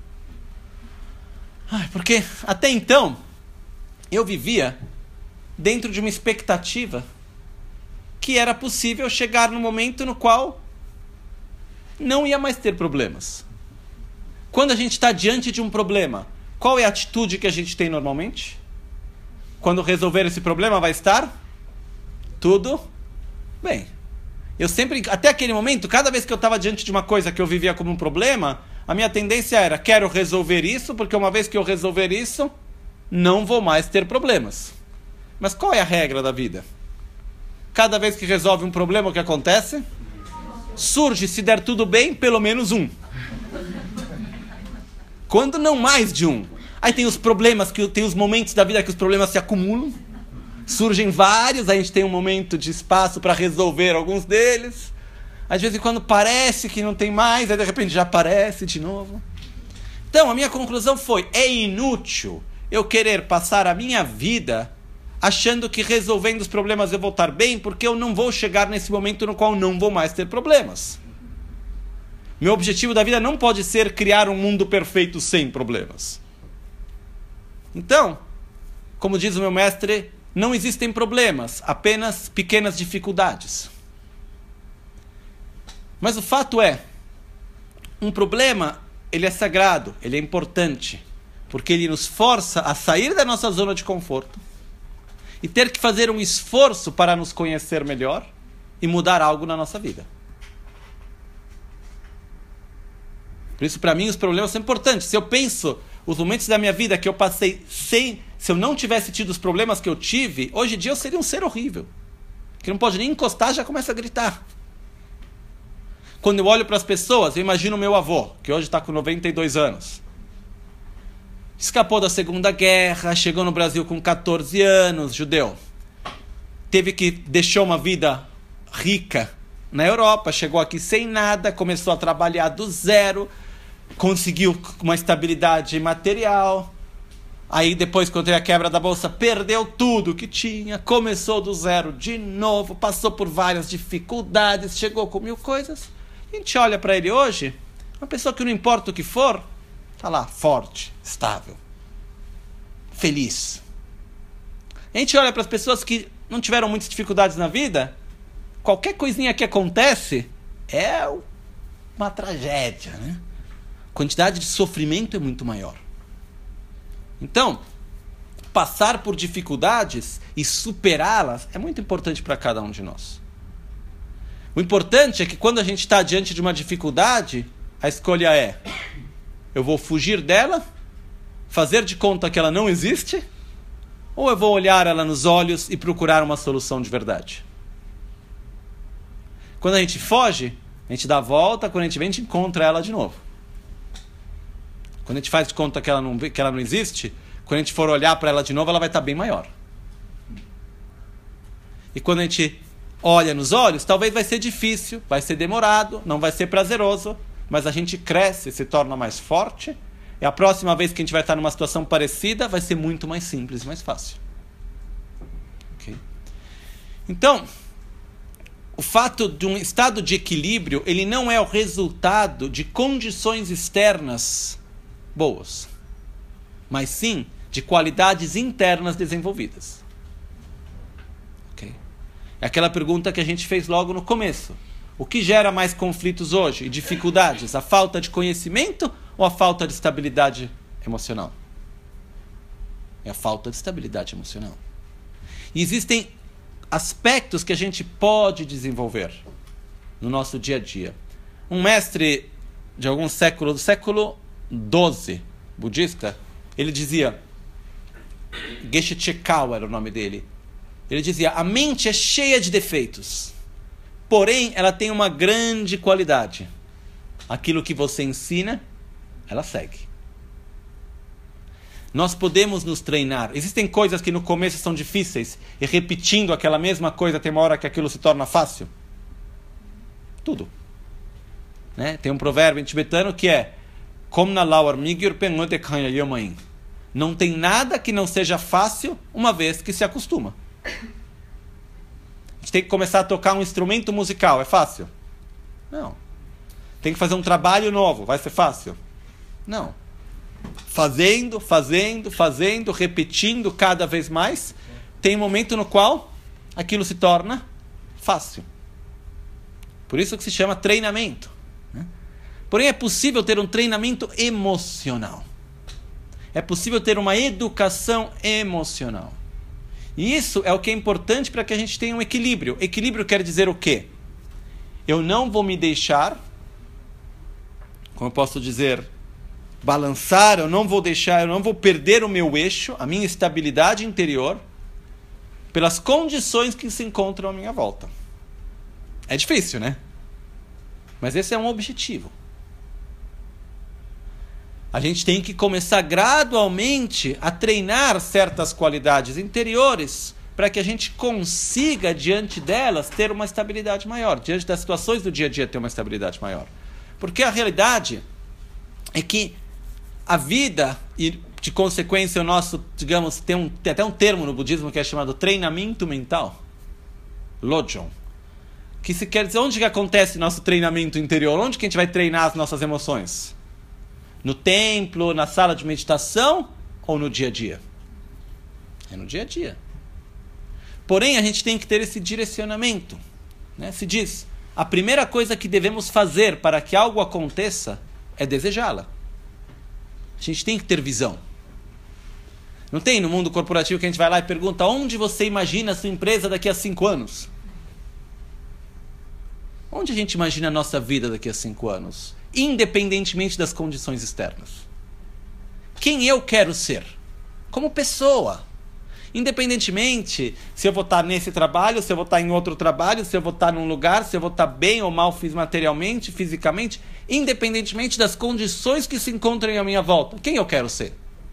Ai, porque até então eu vivia dentro de uma expectativa que era possível chegar no momento no qual não ia mais ter problemas. Quando a gente está diante de um problema, qual é a atitude que a gente tem normalmente? Quando resolver esse problema vai estar tudo bem. Eu sempre, até aquele momento, cada vez que eu estava diante de uma coisa que eu vivia como um problema, a minha tendência era, quero resolver isso, porque uma vez que eu resolver isso, não vou mais ter problemas. Mas qual é a regra da vida? Cada vez que resolve um problema, o que acontece? Surge, se der tudo bem, pelo menos um. Quando não mais de um. Aí tem os problemas, que tem os momentos da vida que os problemas se acumulam. Surgem vários, aí a gente tem um momento de espaço para resolver alguns deles. Às vezes quando parece que não tem mais, aí de repente já aparece de novo. Então a minha conclusão foi, é inútil eu querer passar a minha vida achando que resolvendo os problemas eu vou estar bem, porque eu não vou chegar nesse momento no qual não vou mais ter problemas. Meu objetivo da vida não pode ser criar um mundo perfeito sem problemas. Então, como diz o meu mestre, não existem problemas, apenas pequenas dificuldades. Mas o fato é, um problema, ele é sagrado, ele é importante, porque ele nos força a sair da nossa zona de conforto e ter que fazer um esforço para nos conhecer melhor e mudar algo na nossa vida. Por isso, para mim, os problemas são importantes. Se eu penso os momentos da minha vida que eu passei sem... Se eu não tivesse tido os problemas que eu tive, hoje em dia eu seria um ser horrível. Que não pode nem encostar, já começa a gritar. Quando eu olho para as pessoas, eu imagino o meu avô, que hoje está com noventa e dois anos. Escapou da Segunda Guerra, chegou no Brasil com catorze anos, judeu. Teve que... Deixou uma vida rica na Europa, chegou aqui sem nada, começou a trabalhar do zero, conseguiu uma estabilidade material. Aí depois, quando teve a quebra da bolsa, perdeu tudo que tinha, começou do zero de novo, passou por várias dificuldades, chegou com mil coisas. A gente olha para ele hoje, uma pessoa que não importa o que for, está lá, forte, estável, feliz. A gente olha para as pessoas que não tiveram muitas dificuldades na vida, qualquer coisinha que acontece é uma tragédia, né? A quantidade de sofrimento é muito maior. Então, passar por dificuldades e superá-las é muito importante para cada um de nós. O importante é que quando a gente está diante de uma dificuldade, a escolha é: eu vou fugir dela, fazer de conta que ela não existe, ou eu vou olhar ela nos olhos e procurar uma solução de verdade? Quando a gente foge, a gente dá a volta, quando a gente vem, a gente encontra ela de novo. Quando a gente faz de conta que ela não, que ela não existe, quando a gente for olhar para ela de novo, ela vai estar bem maior. E quando a gente olha nos olhos, talvez vai ser difícil, vai ser demorado, não vai ser prazeroso, mas a gente cresce, se torna mais forte, e a próxima vez que a gente vai estar numa situação parecida, vai ser muito mais simples e mais fácil. Okay? Então, o fato de um estado de equilíbrio, ele não é o resultado de condições externas boas, mas sim de qualidades internas desenvolvidas. Okay? É aquela pergunta que a gente fez logo no começo. O que gera mais conflitos hoje e dificuldades? A falta de conhecimento ou a falta de estabilidade emocional? É a falta de estabilidade emocional. E existem aspectos que a gente pode desenvolver no nosso dia a dia. Um mestre de algum século, do século doze, budista, ele dizia: Geshe Chekau era o nome dele. Ele dizia, a mente é cheia de defeitos, porém ela tem uma grande qualidade. Aquilo que você ensina, ela segue. Nós podemos nos treinar. Existem coisas que no começo são difíceis, e repetindo aquela mesma coisa, tem uma hora que aquilo se torna fácil. Tudo. Né? Tem um provérbio em tibetano que é não tem nada que não seja fácil uma vez que se acostuma. A gente tem que começar a tocar um instrumento musical. É fácil? Não. Tem que fazer um trabalho novo. Vai ser fácil? Não. Fazendo, fazendo, fazendo, repetindo cada vez mais, tem um momento no qual aquilo se torna fácil. Por isso que se chama treinamento. Né? Porém, é possível ter um treinamento emocional. É possível ter uma educação emocional. E isso é o que é importante para que a gente tenha um equilíbrio. Equilíbrio quer dizer o quê? Eu não vou me deixar, como eu posso dizer, balançar, eu não vou deixar, eu não vou perder o meu eixo, a minha estabilidade interior, pelas condições que se encontram à minha volta. É difícil, né? Mas esse é um objetivo. A gente tem que começar gradualmente a treinar certas qualidades interiores para que a gente consiga, diante delas, ter uma estabilidade maior. Diante das situações do dia a dia, ter uma estabilidade maior. Porque a realidade é que a vida, e de consequência o nosso, digamos, tem, um, tem até um termo no budismo que é chamado treinamento mental. Lojong. Que se quer dizer, onde que acontece nosso treinamento interior? Onde que a gente vai treinar as nossas emoções? No templo, na sala de meditação ou no dia a dia? É no dia a dia. Porém, a gente tem que ter esse direcionamento. Né? Se diz, a primeira coisa que devemos fazer para que algo aconteça é desejá-la. A gente tem que ter visão. Não tem no mundo corporativo que a gente vai lá e pergunta onde você imagina a sua empresa daqui a cinco anos? Onde a gente imagina a nossa vida daqui a cinco anos? Independentemente das condições externas. Quem eu quero ser? Como pessoa. Independentemente se eu vou estar nesse trabalho, se eu vou estar em outro trabalho, se eu vou estar num lugar, se eu vou estar bem ou mal materialmente, fisicamente, independentemente das condições que se encontram à minha volta. Quem eu quero ser?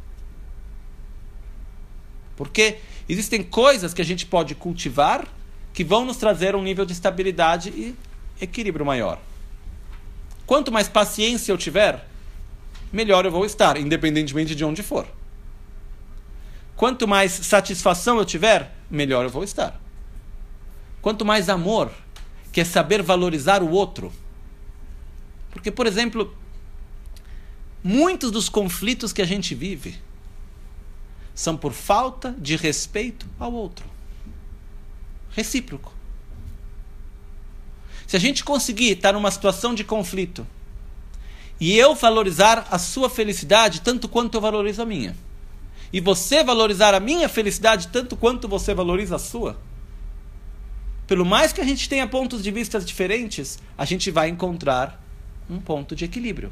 Porque existem coisas que a gente pode cultivar que vão nos trazer um nível de estabilidade e equilíbrio maior. Quanto mais paciência eu tiver, melhor eu vou estar, independentemente de onde for. Quanto mais satisfação eu tiver, melhor eu vou estar. Quanto mais amor, que é saber valorizar o outro. Porque, por exemplo, muitos dos conflitos que a gente vive são por falta de respeito ao outro. Recíproco. Se a gente conseguir estar numa situação de conflito e eu valorizar a sua felicidade tanto quanto eu valorizo a minha, e você valorizar a minha felicidade tanto quanto você valoriza a sua, pelo mais que a gente tenha pontos de vista diferentes, a gente vai encontrar um ponto de equilíbrio.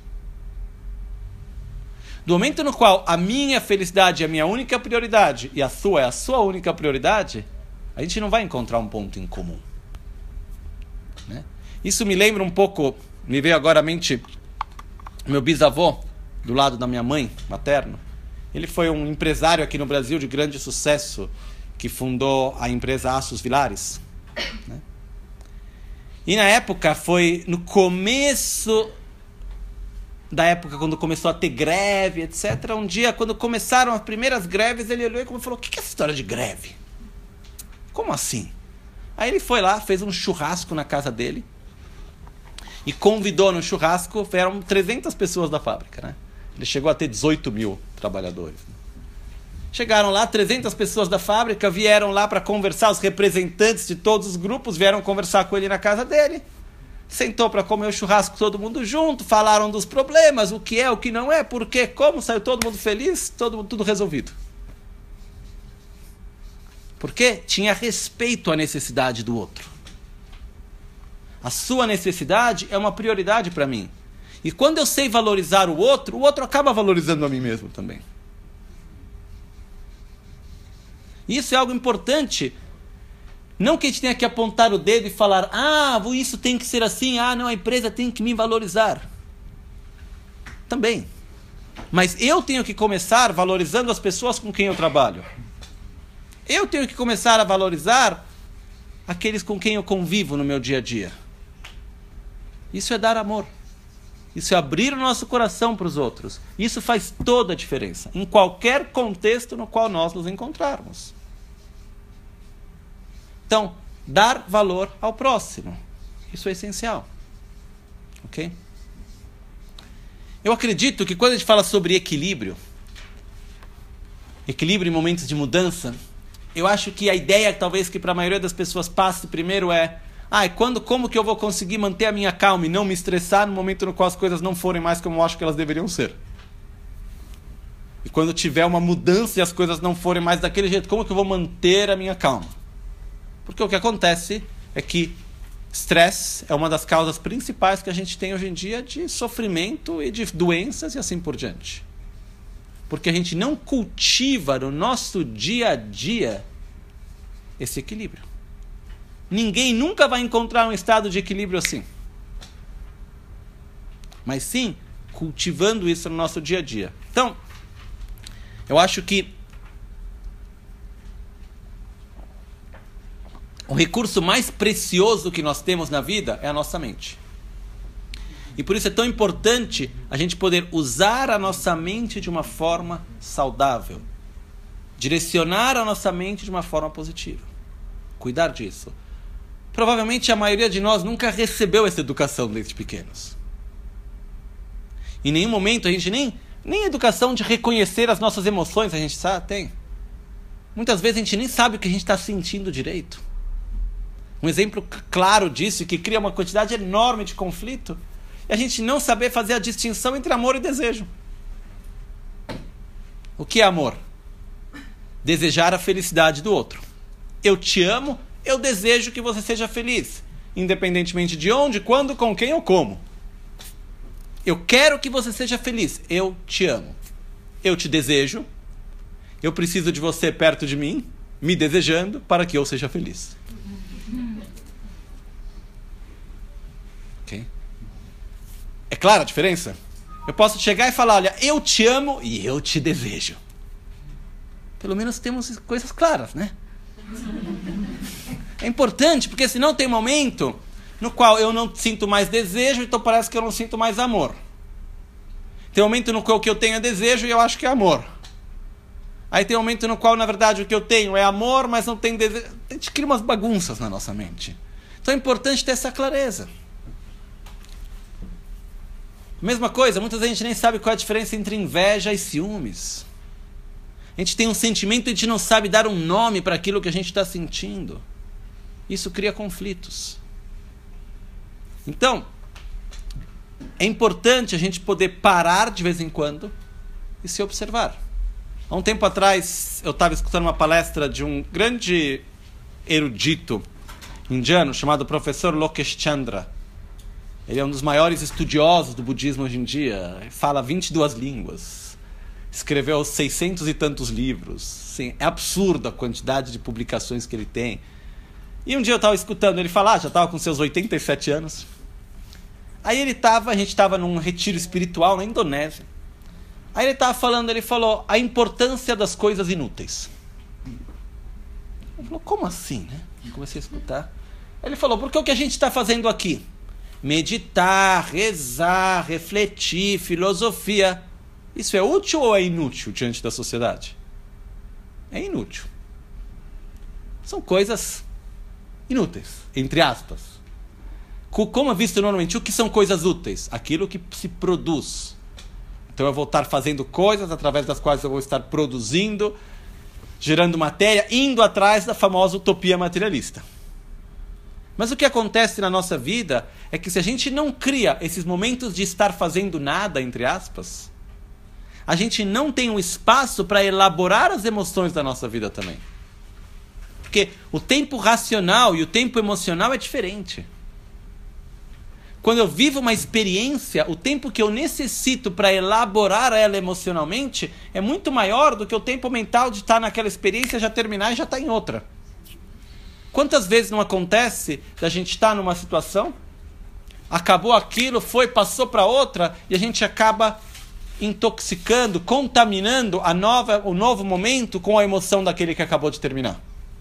Do momento no qual a minha felicidade é a minha única prioridade e a sua é a sua única prioridade, a gente não vai encontrar um ponto em comum. Né? Isso me lembra um pouco, me veio agora à mente, meu bisavô, do lado da minha mãe, materno. Ele foi um empresário aqui no Brasil de grande sucesso, que fundou a empresa Aços Vilares. Né? E na época, foi no começo da época, quando começou a ter greve, etcétera. Um dia, quando começaram as primeiras greves, ele olhou e falou, o que é essa história de greve? Como assim? Aí ele foi lá, fez um churrasco na casa dele e convidou no churrasco, eram trezentas pessoas da fábrica, né? Ele chegou a ter dezoito mil trabalhadores. Chegaram lá, trezentas pessoas da fábrica vieram lá para conversar, os representantes de todos os grupos vieram conversar com ele na casa dele. Sentou para comer o churrasco todo mundo junto, falaram dos problemas, o que é, o que não é, por quê, como, saiu todo mundo feliz, todo, tudo resolvido. Porque tinha respeito à necessidade do outro. A sua necessidade é uma prioridade para mim. E quando eu sei valorizar o outro, o outro acaba valorizando a mim mesmo também. E isso é algo importante. Não que a gente tenha que apontar o dedo e falar, ah, isso tem que ser assim, ah, não, a empresa tem que me valorizar. Também. Mas eu tenho que começar valorizando as pessoas com quem eu trabalho. Eu tenho que começar a valorizar aqueles com quem eu convivo no meu dia a dia. Isso é dar amor. Isso é abrir o nosso coração para os outros. Isso faz toda a diferença, em qualquer contexto no qual nós nos encontrarmos. Então, dar valor ao próximo. Isso é essencial. Ok? Eu acredito que quando a gente fala sobre equilíbrio, equilíbrio em momentos de mudança, eu acho que a ideia, talvez, que para a maioria das pessoas passe primeiro é, ah, quando, como que eu vou conseguir manter a minha calma e não me estressar no momento no qual as coisas não forem mais como eu acho que elas deveriam ser? E quando tiver uma mudança e as coisas não forem mais daquele jeito, como que eu vou manter a minha calma? Porque o que acontece é que estresse é uma das causas principais que a gente tem hoje em dia de sofrimento e de doenças e assim por diante. Porque a gente não cultiva no nosso dia a dia esse equilíbrio. Ninguém nunca vai encontrar um estado de equilíbrio assim. Mas sim, cultivando isso no nosso dia a dia. Então, eu acho que o recurso mais precioso que nós temos na vida é a nossa mente. E por isso é tão importante a gente poder usar a nossa mente de uma forma saudável. Direcionar a nossa mente de uma forma positiva. Cuidar disso. Provavelmente a maioria de nós nunca recebeu essa educação desde pequenos. Em nenhum momento a gente nem, nem educação de reconhecer as nossas emoções a gente sabe, tem. Muitas vezes a gente nem sabe o que a gente está sentindo direito. Um exemplo claro disso, que cria uma quantidade enorme de conflito, é a gente não saber fazer a distinção entre amor e desejo. O que é amor? Desejar a felicidade do outro. Eu te amo, eu desejo que você seja feliz, independentemente de onde, quando, com quem ou como. Eu quero que você seja feliz, eu te amo. Eu te desejo, eu preciso de você perto de mim, me desejando, para que eu seja feliz. Ok? É clara a diferença? Eu posso chegar e falar, olha, eu te amo e eu te desejo. Pelo menos temos coisas claras, né? É importante, porque senão tem momento no qual eu não sinto mais desejo, então parece que eu não sinto mais amor. Tem momento no qual o que eu tenho é desejo e eu acho que é amor. Aí tem momento no qual, na verdade, o que eu tenho é amor, mas não tem desejo. A gente cria umas bagunças na nossa mente. Então é importante ter essa clareza. Mesma coisa, muitas vezes a gente nem sabe qual é a diferença entre inveja e ciúmes. A gente tem um sentimento e a gente não sabe dar um nome para aquilo que a gente está sentindo. Isso cria conflitos. Então, é importante a gente poder parar de vez em quando e se observar. Há um tempo atrás, eu estava escutando uma palestra de um grande erudito indiano chamado professor Lokesh Chandra. Ele é um dos maiores estudiosos do budismo hoje em dia. Ele fala vinte e duas línguas. Escreveu seiscentos e tantos livros. Sim, é absurda a quantidade de publicações que ele tem. E um dia eu estava escutando ele falar, já estava com seus oitenta e sete anos. Aí ele estava, a gente estava num retiro espiritual na Indonésia. Aí ele estava falando, ele falou a importância das coisas inúteis. Ele falou, como assim, né? Eu comecei a escutar. Ele falou, porque o que a gente está fazendo aqui? Meditar, rezar, refletir, filosofia. Isso é útil ou é inútil diante da sociedade? É inútil. São coisas inúteis, entre aspas. Como é visto normalmente, o que são coisas úteis? Aquilo que se produz. Então eu vou estar fazendo coisas através das quais eu vou estar produzindo, gerando matéria, indo atrás da famosa utopia materialista. Mas o que acontece na nossa vida é que se a gente não cria esses momentos de estar fazendo nada, entre aspas, a gente não tem um espaço para elaborar as emoções da nossa vida também. Porque o tempo racional e o tempo emocional é diferente. Quando eu vivo uma experiência, o tempo que eu necessito para elaborar ela emocionalmente é muito maior do que o tempo mental de estar naquela experiência, já terminar e já estar em outra. Quantas vezes não acontece da gente estar numa situação, acabou aquilo, foi, passou para outra, e a gente acaba intoxicando, contaminando a nova, o novo momento com a emoção daquele que acabou de terminar.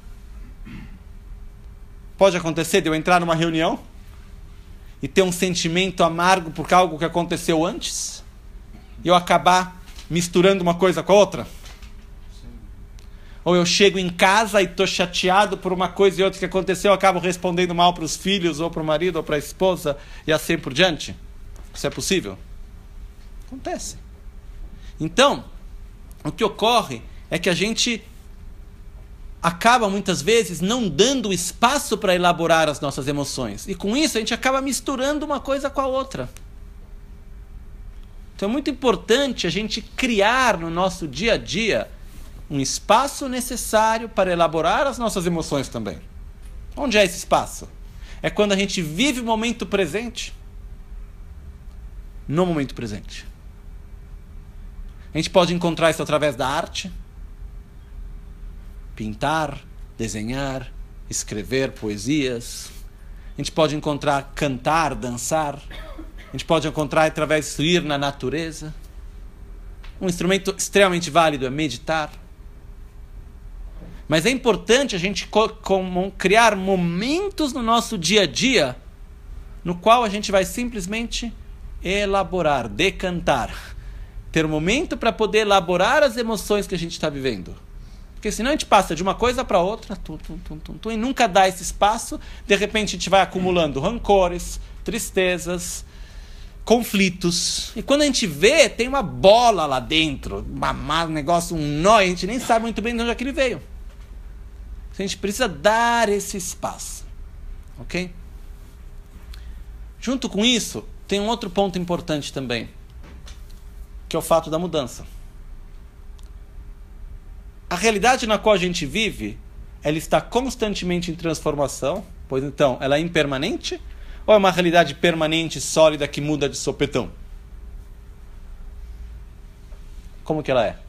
Pode acontecer de eu entrar numa reunião e ter um sentimento amargo por algo que aconteceu antes, e eu acabar misturando uma coisa com a outra. Ou eu chego em casa e estou chateado por uma coisa e outra que aconteceu, eu acabo respondendo mal para os filhos, ou para o marido, ou para a esposa, e assim por diante. Isso é possível? Acontece. Então, o que ocorre é que a gente acaba muitas vezes não dando espaço para elaborar as nossas emoções. E com isso a gente acaba misturando uma coisa com a outra. Então é muito importante a gente criar no nosso dia a dia um espaço necessário para elaborar as nossas emoções também. Onde é esse espaço? É quando a gente vive o momento presente. No momento presente. A gente pode encontrar isso através da arte. Pintar, desenhar, escrever poesias. A gente pode encontrar cantar, dançar. A gente pode encontrar através de ir na natureza. Um instrumento extremamente válido é meditar. Mas é importante a gente co- com- criar momentos no nosso dia a dia no qual a gente vai simplesmente elaborar, decantar. Ter um momento para poder elaborar as emoções que a gente está vivendo. Porque senão a gente passa de uma coisa para outra tum, tum, tum, tum, tum, e nunca dá esse espaço. De repente a gente vai acumulando rancores, tristezas, conflitos. E quando a gente vê, tem uma bola lá dentro, uma, um negócio, um nó, e a gente nem sabe muito bem de onde é que ele veio. A gente precisa dar esse espaço. Ok? Junto com isso, tem um outro ponto importante também, que é o fato da mudança. A realidade na qual a gente vive, ela está constantemente em transformação, pois então, ela é impermanente, ou é uma realidade permanente, sólida, que muda de sopetão? Como que ela é?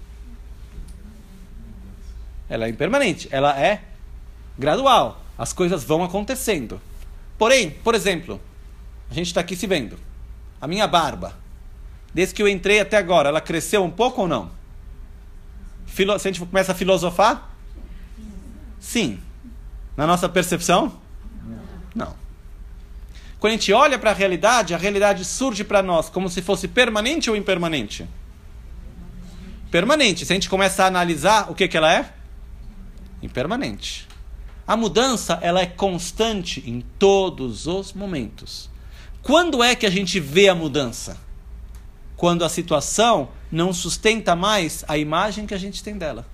Ela é impermanente, ela é gradual, as coisas vão acontecendo. Porém, por exemplo, a gente está aqui se vendo, a minha barba, desde que eu entrei até agora, ela cresceu um pouco ou não? Filo- se a gente começa a filosofar? Sim. Na nossa percepção? Não. Quando a gente olha para a realidade, a realidade surge para nós como se fosse permanente ou impermanente? Permanente. Se a gente começa a analisar, o que, que ela é? Impermanente. A mudança, ela é constante em todos os momentos. Quando é que a gente vê a mudança? Quando a situação não sustenta mais a imagem que a gente tem dela.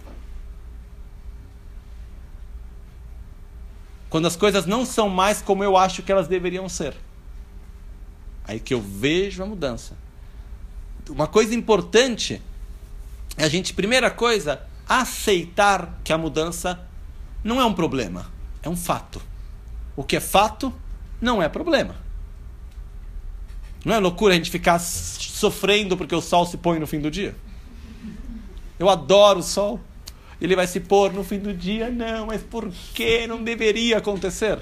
Quando as coisas não são mais como eu acho que elas deveriam ser. Aí que eu vejo a mudança. Uma coisa importante é a gente, primeira coisa, aceitar que a mudança não é um problema, é um fato. O que é fato não é problema. Não é loucura a gente ficar sofrendo porque o sol se põe no fim do dia? Eu adoro o sol. Ele vai se pôr no fim do dia? Não, mas por que não deveria acontecer?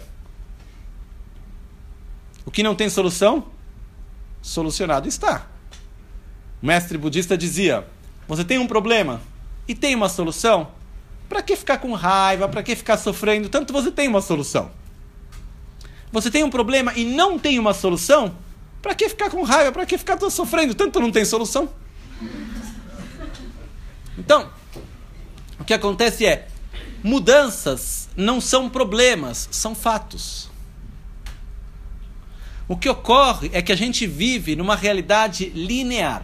O que não tem solução? Solucionado está. O mestre budista dizia, você tem um problema e tem uma solução? Para que ficar com raiva? Para que ficar sofrendo? Tanto você tem uma solução. Você tem um problema e não tem uma solução? Para que ficar com raiva? Para que ficar sofrendo? Tanto não tem solução. Então, o que acontece é, mudanças não são problemas, são fatos. O que ocorre é que a gente vive numa realidade linear,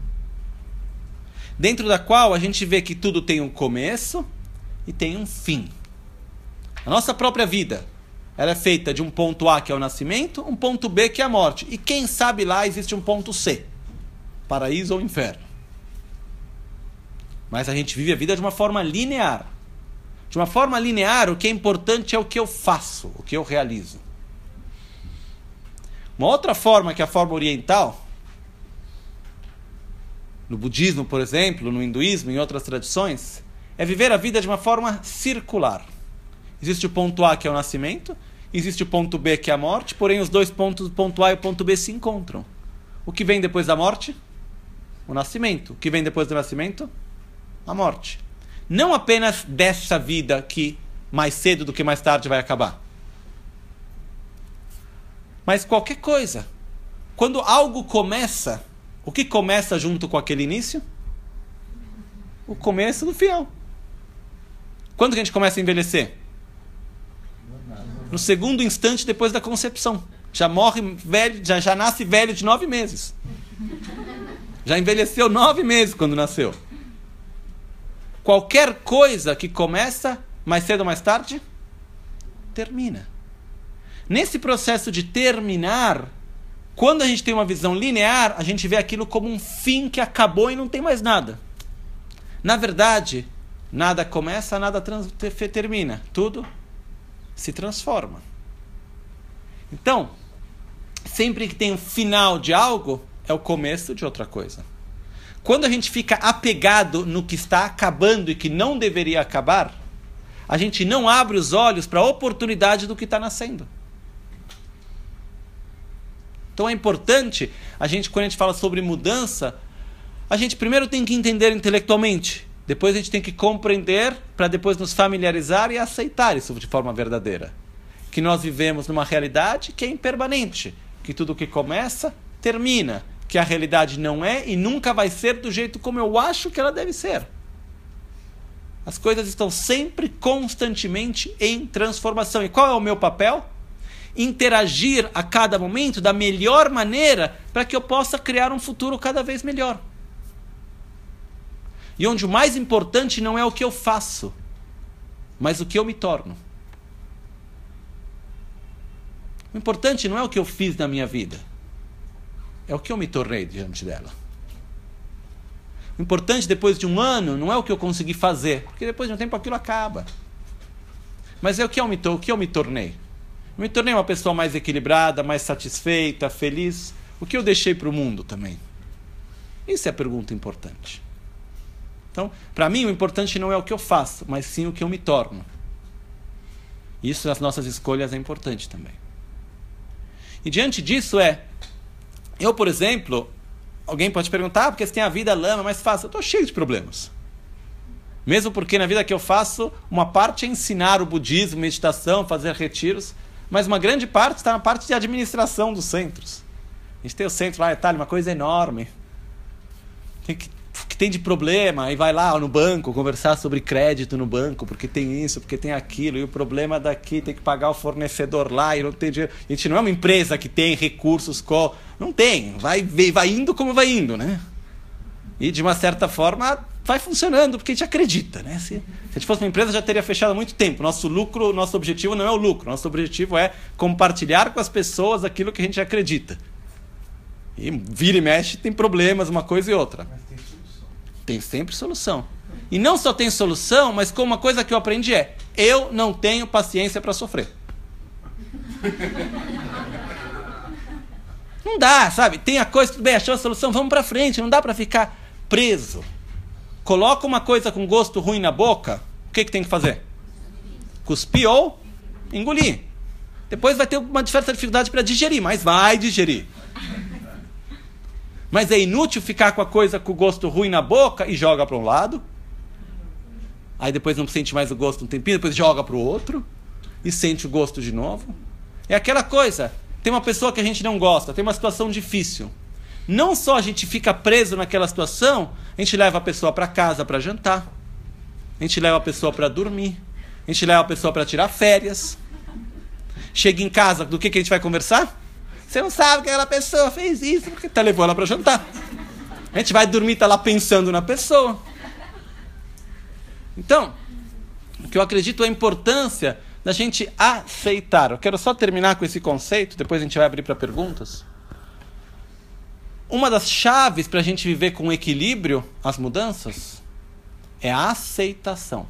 dentro da qual a gente vê que tudo tem um começo e tem um fim. A nossa própria vida, ela é feita de um ponto A, que é o nascimento, um ponto B, que é a morte. E quem sabe lá existe um ponto C, paraíso ou inferno. Mas a gente vive a vida de uma forma linear. De uma forma linear, o que é importante é o que eu faço, o que eu realizo. Uma outra forma, que é a forma oriental, no budismo, por exemplo, no hinduísmo, em outras tradições, é viver a vida de uma forma circular. Existe o ponto A, que é o nascimento, existe o ponto B, que é a morte, porém os dois pontos, o ponto A e o ponto B, se encontram. O que vem depois da morte? O nascimento. O que vem depois do nascimento? A morte. Não apenas dessa vida que mais cedo do que mais tarde vai acabar. Mas qualquer coisa. Quando algo começa, o que começa junto com aquele início? O começo do final. Quando que a gente começa a envelhecer? No segundo instante depois da concepção. Já morre velho, já, já nasce velho de nove meses. Já envelheceu nove meses quando nasceu. Qualquer coisa que começa, mais cedo ou mais tarde, termina. Nesse processo de terminar, quando a gente tem uma visão linear, a gente vê aquilo como um fim que acabou e não tem mais nada. Na verdade, nada começa, nada trans- termina. Tudo se transforma. Então, sempre que tem um final de algo, é o começo de outra coisa. Quando a gente fica apegado no que está acabando e que não deveria acabar, a gente não abre os olhos para a oportunidade do que está nascendo. Então é importante, a gente, quando a gente fala sobre mudança, a gente primeiro tem que entender intelectualmente, depois a gente tem que compreender para depois nos familiarizar e aceitar isso de forma verdadeira. Que nós vivemos numa realidade que é impermanente, que tudo que começa, termina, que a realidade não é e nunca vai ser do jeito como eu acho que ela deve ser. As coisas estão sempre, constantemente em transformação. E qual é o meu papel? Interagir a cada momento da melhor maneira para que eu possa criar um futuro cada vez melhor. E onde o mais importante não é o que eu faço, mas o que eu me torno. O importante não é o que eu fiz na minha vida, é o que eu me tornei diante dela. O importante depois de um ano não é o que eu consegui fazer, porque depois de um tempo aquilo acaba. Mas é o que eu me, o que eu me tornei. Eu me tornei uma pessoa mais equilibrada, mais satisfeita, feliz. O que eu deixei para o mundo também? Isso é a pergunta importante. Então, para mim, o importante não é o que eu faço, mas sim o que eu me torno. Isso nas nossas escolhas é importante também. E diante disso é, eu, por exemplo, alguém pode perguntar, ah, porque você tem a vida lama, mais fácil. Eu estou cheio de problemas. Mesmo porque na vida que eu faço, uma parte é ensinar o budismo, meditação, fazer retiros, mas uma grande parte está na parte de administração dos centros. A gente tem o centro lá em Itália, uma coisa enorme. Tem que, que tem de problema, aí vai lá no banco conversar sobre crédito no banco, porque tem isso, porque tem aquilo, e o problema daqui tem que pagar o fornecedor lá, e não tem dinheiro. A gente não é uma empresa que tem recursos, co... não tem, vai, vai indo como vai indo, né? E de uma certa forma vai funcionando, porque a gente acredita, né? Se, se a gente fosse uma empresa, já teria fechado há muito tempo. Nosso lucro, nosso objetivo não é o lucro, nosso objetivo é compartilhar com as pessoas aquilo que a gente acredita. E vira e mexe, tem problemas, uma coisa e outra. Mas tem solução. Tem sempre solução. E não só tem solução, mas como uma coisa que eu aprendi é, eu não tenho paciência para sofrer. Não dá, sabe? Tem a coisa, tudo bem, achou a solução, vamos para frente, não dá para ficar preso. Coloca uma coisa com gosto ruim na boca, o que, que tem que fazer? Cuspir ou engolir. Depois vai ter uma certa dificuldade para digerir, mas vai digerir. Mas é inútil ficar com a coisa com o gosto ruim na boca e joga para um lado. Aí depois não sente mais o gosto um tempinho, depois joga para o outro e sente o gosto de novo. É aquela coisa, tem uma pessoa que a gente não gosta, tem uma situação difícil. Não só a gente fica preso naquela situação, a gente leva a pessoa para casa para jantar, a gente leva a pessoa para dormir, a gente leva a pessoa para tirar férias. Chega em casa, do que, que a gente vai conversar? Você não sabe que aquela pessoa fez isso, porque tá levando ela para jantar. A gente vai dormir, tá lá pensando na pessoa. Então, o que eu acredito é a importância da gente aceitar. Eu quero só terminar com esse conceito, depois a gente vai abrir para perguntas. Uma das chaves para a gente viver com equilíbrio as mudanças é a aceitação.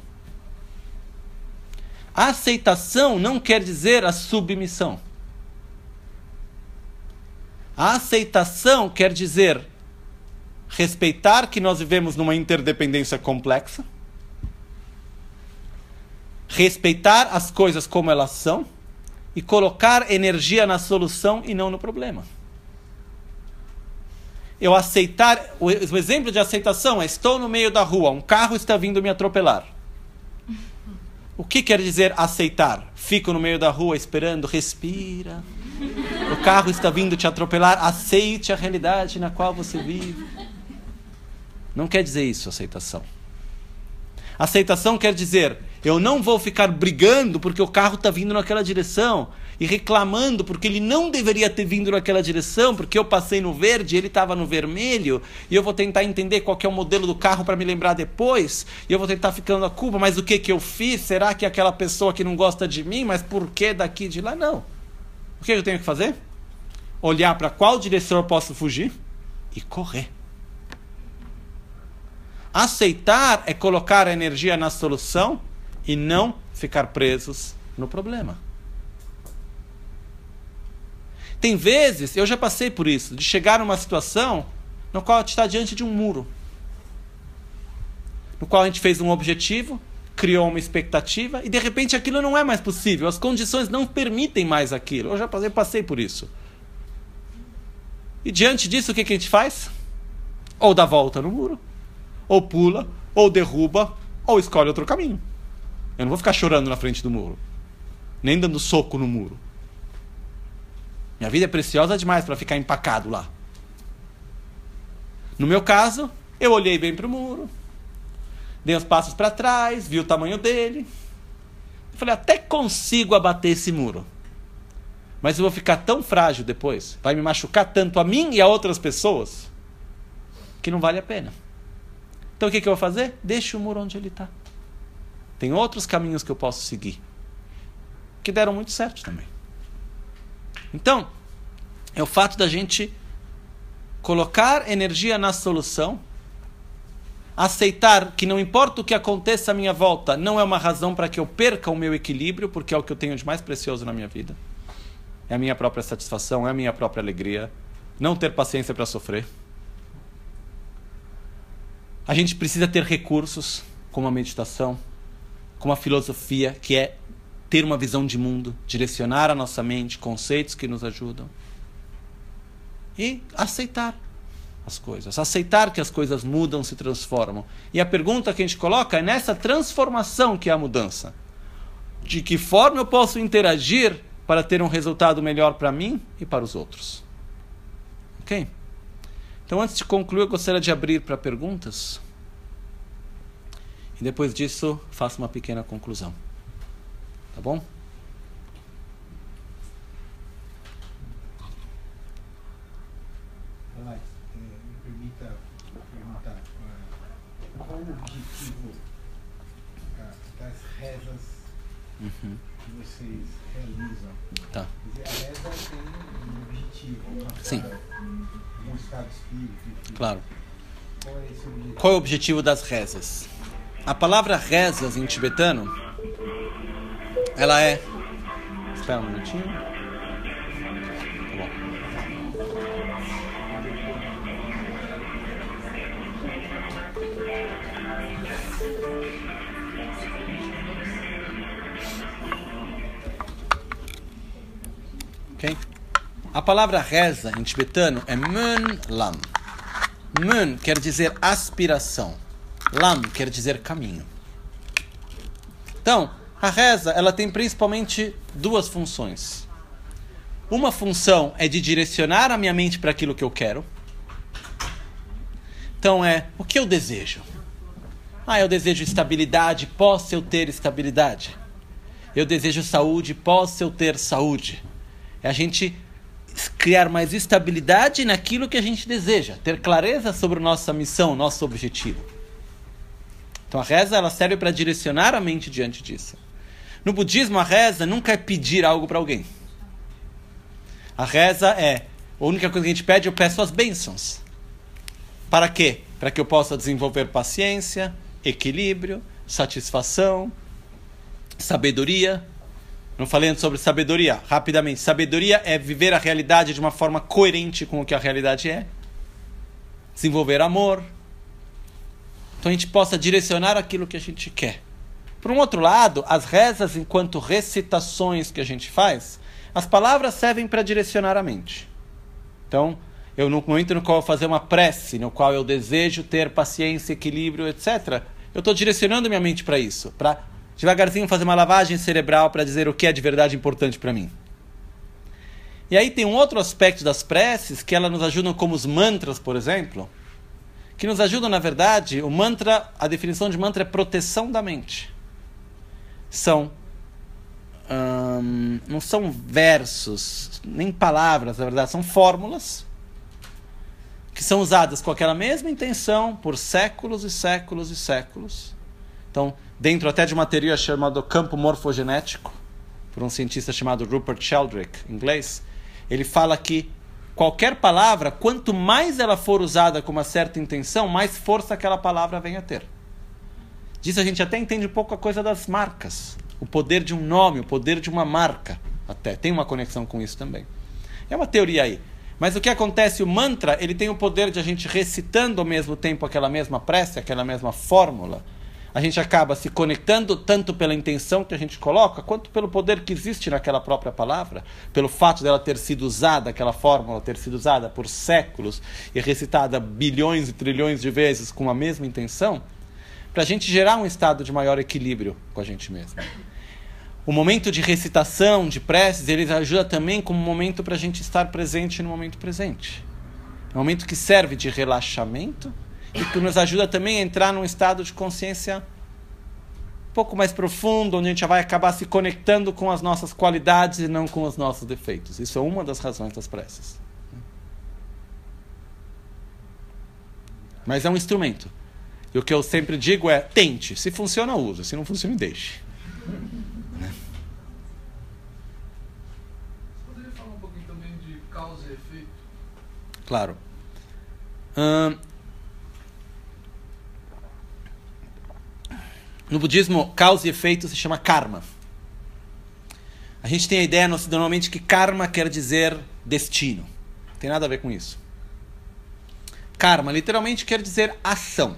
A aceitação não quer dizer a submissão. A aceitação quer dizer respeitar que nós vivemos numa interdependência complexa, respeitar as coisas como elas são e colocar energia na solução e não no problema. Eu aceitar, o exemplo de aceitação é: estou no meio da rua, um carro está vindo me atropelar. O que quer dizer aceitar? Fico no meio da rua esperando, respira. O carro está vindo te atropelar, aceite a realidade na qual você vive. Não quer dizer isso, aceitação. Aceitação quer dizer: eu não vou ficar brigando porque o carro está vindo naquela direção e reclamando porque ele não deveria ter vindo naquela direção, porque eu passei no verde e ele estava no vermelho, e eu vou tentar entender qual que é o modelo do carro para me lembrar depois, e eu vou tentar ficando a culpa, mas o que que eu fiz? Será que é aquela pessoa que não gosta de mim? Mas por que daqui e de lá? Não. O que eu tenho que fazer? Olhar para qual direção eu posso fugir e correr. Aceitar é colocar a energia na solução e não ficar presos no problema. Tem vezes, eu já passei por isso, de chegar numa situação no qual a gente está diante de um muro. No qual a gente fez um objetivo, criou uma expectativa e de repente aquilo não é mais possível. As condições não permitem mais aquilo. Eu já passei, passei por isso. E diante disso, o que, que a gente faz? Ou dá volta no muro, ou pula, ou derruba, ou escolhe outro caminho. Eu não vou ficar chorando na frente do muro, nem dando soco no muro. Minha vida é preciosa demais para ficar empacado lá. No meu caso, eu olhei bem para o muro, dei uns passos para trás, vi o tamanho dele. Eu falei: até consigo abater esse muro, mas eu vou ficar tão frágil depois, vai me machucar tanto a mim e a outras pessoas, que não vale a pena. Então o que, que eu vou fazer? Deixa o muro onde ele está. Tem outros caminhos que eu posso seguir, que deram muito certo também. Então, é o fato da gente colocar energia na solução, aceitar que não importa o que aconteça à minha volta, não é uma razão para que eu perca o meu equilíbrio, porque é o que eu tenho de mais precioso na minha vida. É a minha própria satisfação, é a minha própria alegria. Não ter paciência para sofrer. A gente precisa ter recursos, como a meditação, como a filosofia, que é ter uma visão de mundo, direcionar a nossa mente, conceitos que nos ajudam. E aceitar as coisas. Aceitar que as coisas mudam, se transformam. E a pergunta que a gente coloca é nessa transformação que é a mudança. De que forma eu posso interagir para ter um resultado melhor para mim e para os outros? Ok? Então, antes de concluir, eu gostaria de abrir para perguntas. E depois disso, faço uma pequena conclusão. Tá bom? Alex, me permita perguntar qual o objetivo das rezas uhum. que vocês realizam? Tá. Quer dizer, a reza tem um objetivo, uma Sim. um estado espírita. Enfim. Claro. Qual é esse objetivo? Qual é o objetivo das rezas? A palavra rezas em tibetano, ela é... Espera um minutinho. Tá bom. Ok? A palavra reza em tibetano é Mun Lam. Mun quer dizer aspiração. Lam quer dizer caminho. Então, a reza, ela tem principalmente duas funções. Uma função é de direcionar a minha mente para aquilo que eu quero. Então é, o que eu desejo? Ah, eu desejo estabilidade, posso eu ter estabilidade? Eu desejo saúde, posso eu ter saúde? É a gente criar mais estabilidade naquilo que a gente deseja, ter clareza sobre nossa missão, nosso objetivo. Então a reza, ela serve para direcionar a mente diante disso. No budismo, a reza nunca é pedir algo para alguém. A reza é, a única coisa que a gente pede, eu peço as bênçãos. Para quê? Para que eu possa desenvolver paciência, equilíbrio, satisfação, sabedoria. Não falei antes sobre sabedoria. Rapidamente. Sabedoria é viver a realidade de uma forma coerente com o que a realidade é. Desenvolver amor. Então a gente possa direcionar aquilo que a gente quer. Por um outro lado, as rezas enquanto recitações que a gente faz, as palavras servem para direcionar a mente. Então, eu no momento no qual eu fazer uma prece, no qual eu desejo ter paciência, equilíbrio, etcétera, eu estou direcionando minha mente para isso, para devagarzinho fazer uma lavagem cerebral para dizer o que é de verdade importante para mim. E aí tem um outro aspecto das preces, que elas nos ajudam como os mantras, por exemplo, que nos ajudam, na verdade, o mantra, a definição de mantra é proteção da mente. São, hum, não são versos, nem palavras, na verdade, são fórmulas que são usadas com aquela mesma intenção por séculos e séculos e séculos. Então, dentro até de uma teoria chamada campo morfogenético, por um cientista chamado Rupert Sheldrake, em inglês, ele fala que qualquer palavra, quanto mais ela for usada com uma certa intenção, mais força aquela palavra vem a ter. Disso a gente até entende um pouco a coisa das marcas. O poder de um nome, o poder de uma marca. Até tem uma conexão com isso também. É uma teoria aí. Mas o que acontece, o mantra, ele tem o poder de a gente recitando ao mesmo tempo aquela mesma prece, aquela mesma fórmula. A gente acaba se conectando tanto pela intenção que a gente coloca, quanto pelo poder que existe naquela própria palavra, pelo fato dela ter sido usada, aquela fórmula ter sido usada por séculos e recitada bilhões e trilhões de vezes com a mesma intenção, para a gente gerar um estado de maior equilíbrio com a gente mesmo. O momento de recitação, de preces, ele ajuda também como um momento para a gente estar presente no momento presente. É um momento que serve de relaxamento e que nos ajuda também a entrar num estado de consciência um pouco mais profundo, onde a gente já vai acabar se conectando com as nossas qualidades e não com os nossos defeitos. Isso é uma das razões das preces. Mas é um instrumento. E o que eu sempre digo é, tente. Se funciona, use. Se não funciona, deixe. Causa e efeito? Claro. Hum, no budismo, causa e efeito se chama karma. A gente tem a ideia normalmente que karma quer dizer destino. Não tem nada a ver com isso. Karma literalmente quer dizer ação.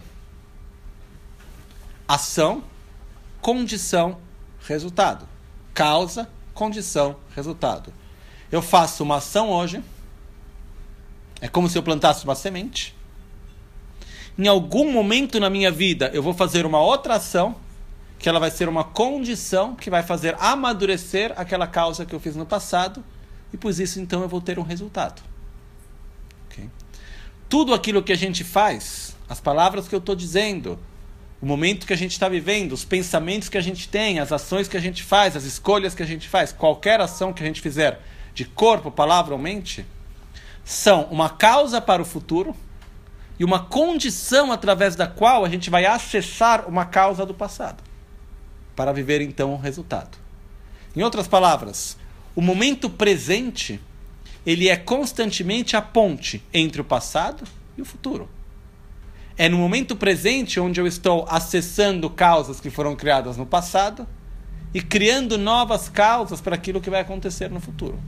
Ação, condição, resultado. Causa, condição, resultado. Eu faço uma ação hoje, é como se eu plantasse uma semente. Em algum momento na minha vida, eu vou fazer uma outra ação, que ela vai ser uma condição que vai fazer amadurecer aquela causa que eu fiz no passado, e por isso, então, eu vou ter um resultado. Okay? Tudo aquilo que a gente faz, as palavras que eu estou dizendo, o momento que a gente está vivendo, os pensamentos que a gente tem, as ações que a gente faz, as escolhas que a gente faz, qualquer ação que a gente fizer, de corpo, palavra ou mente, são uma causa para o futuro e uma condição através da qual a gente vai acessar uma causa do passado, para viver então o resultado. Em outras palavras, o momento presente, ele é constantemente a ponte entre o passado e o futuro. É no momento presente onde eu estou acessando causas que foram criadas no passado e criando novas causas para aquilo que vai acontecer no futuro.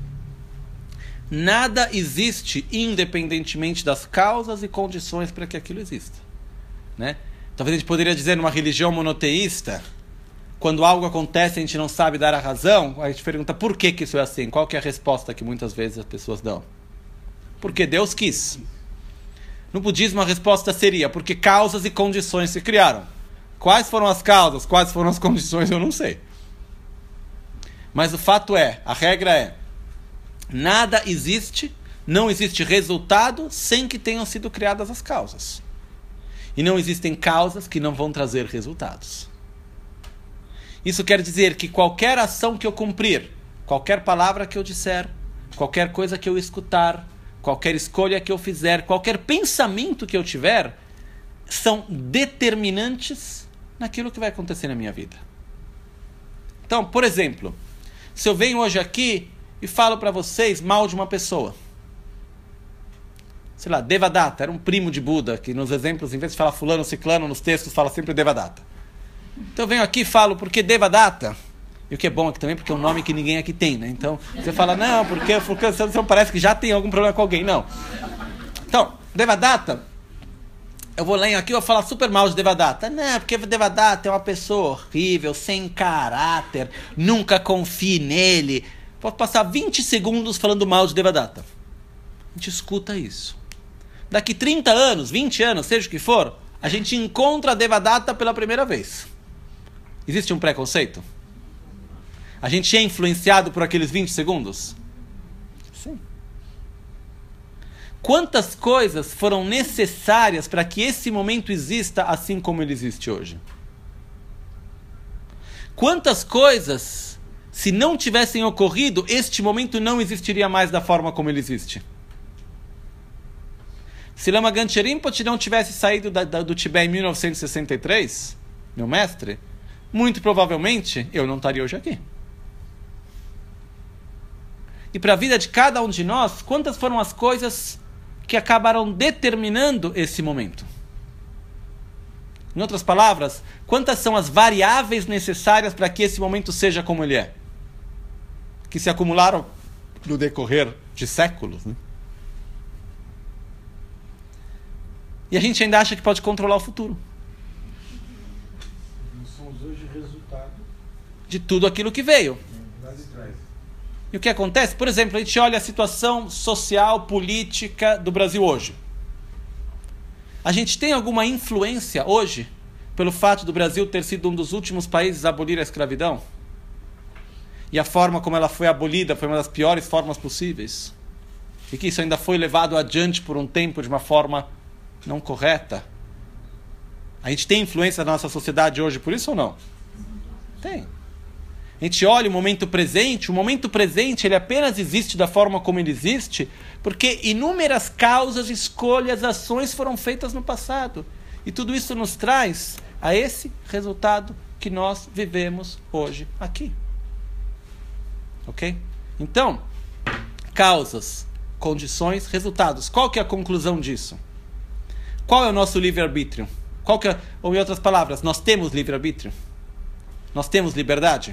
Nada existe independentemente das causas e condições para que aquilo exista. Né? Talvez a gente poderia dizer numa religião monoteísta, quando algo acontece e a gente não sabe dar a razão, a gente pergunta por que, que isso é assim? Qual que é a resposta que muitas vezes as pessoas dão? Porque Deus quis. No budismo a resposta seria porque causas e condições se criaram. Quais foram as causas, quais foram as condições, eu não sei. Mas o fato é, a regra é, nada existe, não existe resultado sem que tenham sido criadas as causas. E não existem causas que não vão trazer resultados. Isso quer dizer que qualquer ação que eu cumprir, qualquer palavra que eu disser, qualquer coisa que eu escutar, qualquer escolha que eu fizer, qualquer pensamento que eu tiver, são determinantes naquilo que vai acontecer na minha vida. Então, por exemplo, se eu venho hoje aqui e falo para vocês mal de uma pessoa, sei lá, Devadatta, era um primo de Buda, que nos exemplos, em vez de falar fulano, ciclano, nos textos fala sempre Devadatta. Então eu venho aqui e falo porque Devadatta E o que é bom aqui também, porque é um nome que ninguém aqui tem, né? Então, você fala, não, porque você parece que já tem algum problema com alguém. Não. Então, Devadatta, eu vou ler aqui, eu vou falar super mal de Devadatta. Não, porque Devadatta é uma pessoa horrível, sem caráter, nunca confie nele. Vou passar vinte segundos falando mal de Devadatta. A gente escuta isso. Daqui trinta anos, vinte anos, seja o que for, a gente encontra Devadatta pela primeira vez. Existe um preconceito? A gente é influenciado por aqueles vinte segundos? Sim. Quantas coisas foram necessárias para que esse momento exista assim como ele existe hoje? Quantas coisas, se não tivessem ocorrido, este momento não existiria mais da forma como ele existe? Se Lama Ganche Rinpoche não tivesse saído da, da, do Tibete em mil novecentos e sessenta e três, meu mestre, muito provavelmente eu não estaria hoje aqui. E para a vida de cada um de nós, quantas foram as coisas que acabaram determinando esse momento? Em outras palavras, quantas são as variáveis necessárias para que esse momento seja como ele é? Que se acumularam no decorrer de séculos, né? E a gente ainda acha que pode controlar o futuro. Nós somos hoje resultado de tudo aquilo que veio. lá de trás. E o que acontece? Por exemplo, a gente olha a situação social, política do Brasil hoje. A gente tem alguma influência hoje pelo fato do Brasil ter sido um dos últimos países a abolir a escravidão? E a forma como ela foi abolida foi uma das piores formas possíveis? E que isso ainda foi levado adiante por um tempo de uma forma não correta? A gente tem influência na nossa sociedade hoje por isso ou não? Tem. A gente olha o momento presente, o momento presente ele apenas existe da forma como ele existe, porque inúmeras causas, escolhas, ações foram feitas no passado. E tudo isso nos traz a esse resultado que nós vivemos hoje aqui. Ok? Então, causas, condições, resultados. Qual que é a conclusão disso? Qual é o nosso livre-arbítrio? Qual que é, ou em outras palavras, nós temos livre-arbítrio? Nós temos liberdade?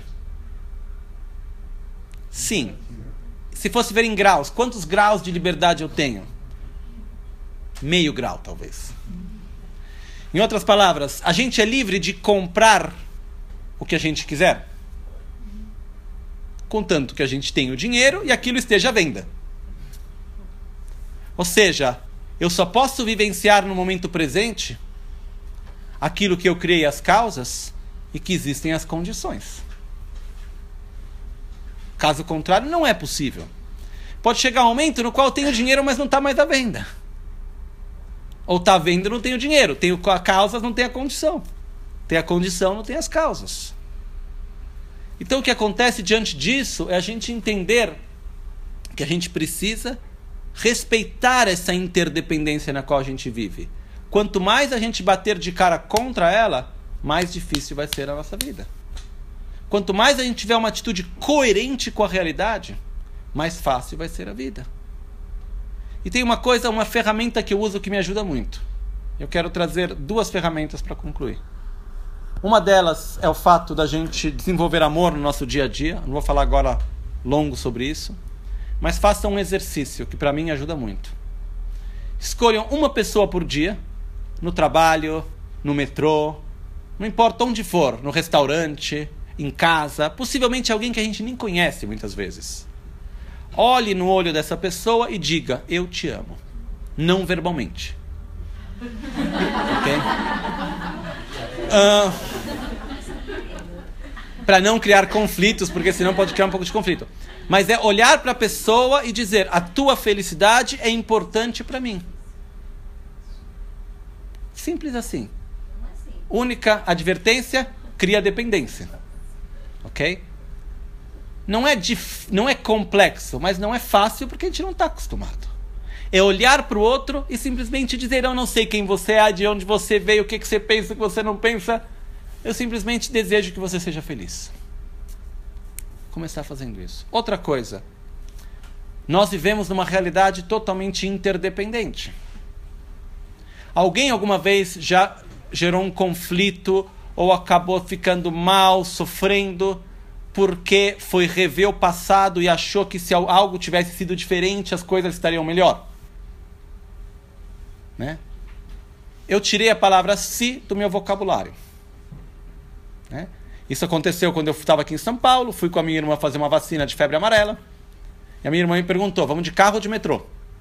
Sim. Se fosse ver em graus, quantos graus de liberdade eu tenho? Meio grau, talvez. Em outras palavras, a gente é livre de comprar o que a gente quiser, contanto que a gente tenha o dinheiro e aquilo esteja à venda. Ou seja, eu só posso vivenciar no momento presente aquilo que eu criei as causas e que existem as condições. Caso contrário, não é possível. Pode chegar um momento no qual eu tenho dinheiro, mas não está mais à venda. Ou está à venda e não tenho dinheiro. Tenho a causa, não tenho a condição. Tem a condição, não tem as causas. Então o que acontece diante disso é a gente entender que a gente precisa respeitar essa interdependência na qual a gente vive. Quanto mais a gente bater de cara contra ela, mais difícil vai ser a nossa vida. Quanto mais a gente tiver uma atitude coerente com a realidade, mais fácil vai ser a vida. E tem uma coisa, uma ferramenta que eu uso que me ajuda muito. Eu quero trazer duas ferramentas para concluir. Uma delas é o fato da gente desenvolver amor no nosso dia a dia. Não vou falar agora longo sobre isso. Mas façam um exercício que para mim ajuda muito. Escolham uma pessoa por dia, no trabalho, no metrô, não importa onde for, no restaurante, em casa, possivelmente alguém que a gente nem conhece muitas vezes. Olhe no olho dessa pessoa e diga, eu te amo. Não verbalmente. Ok? Uh, para não criar conflitos, porque senão pode criar um pouco de conflito. Mas é olhar para a pessoa e dizer, a tua felicidade é importante para mim. Simples assim. Única advertência, cria dependência. Ok? Não é, dif... não é complexo, mas não é fácil porque a gente não está acostumado. É olhar para o outro e simplesmente dizer, eu não sei quem você é, de onde você veio, o que, que você pensa, o que você não pensa. Eu simplesmente desejo que você seja feliz. Começar fazendo isso. Outra coisa, nós vivemos numa realidade totalmente interdependente. Alguém alguma vez já gerou um conflito ou acabou ficando mal, sofrendo porque foi rever o passado e achou que se algo tivesse sido diferente, as coisas estariam melhor. Né? Eu tirei a palavra se do meu vocabulário. Né? Isso aconteceu quando eu estava aqui em São Paulo, fui com a minha irmã fazer uma vacina de febre amarela, e a minha irmã me perguntou, vamos de carro ou de metrô?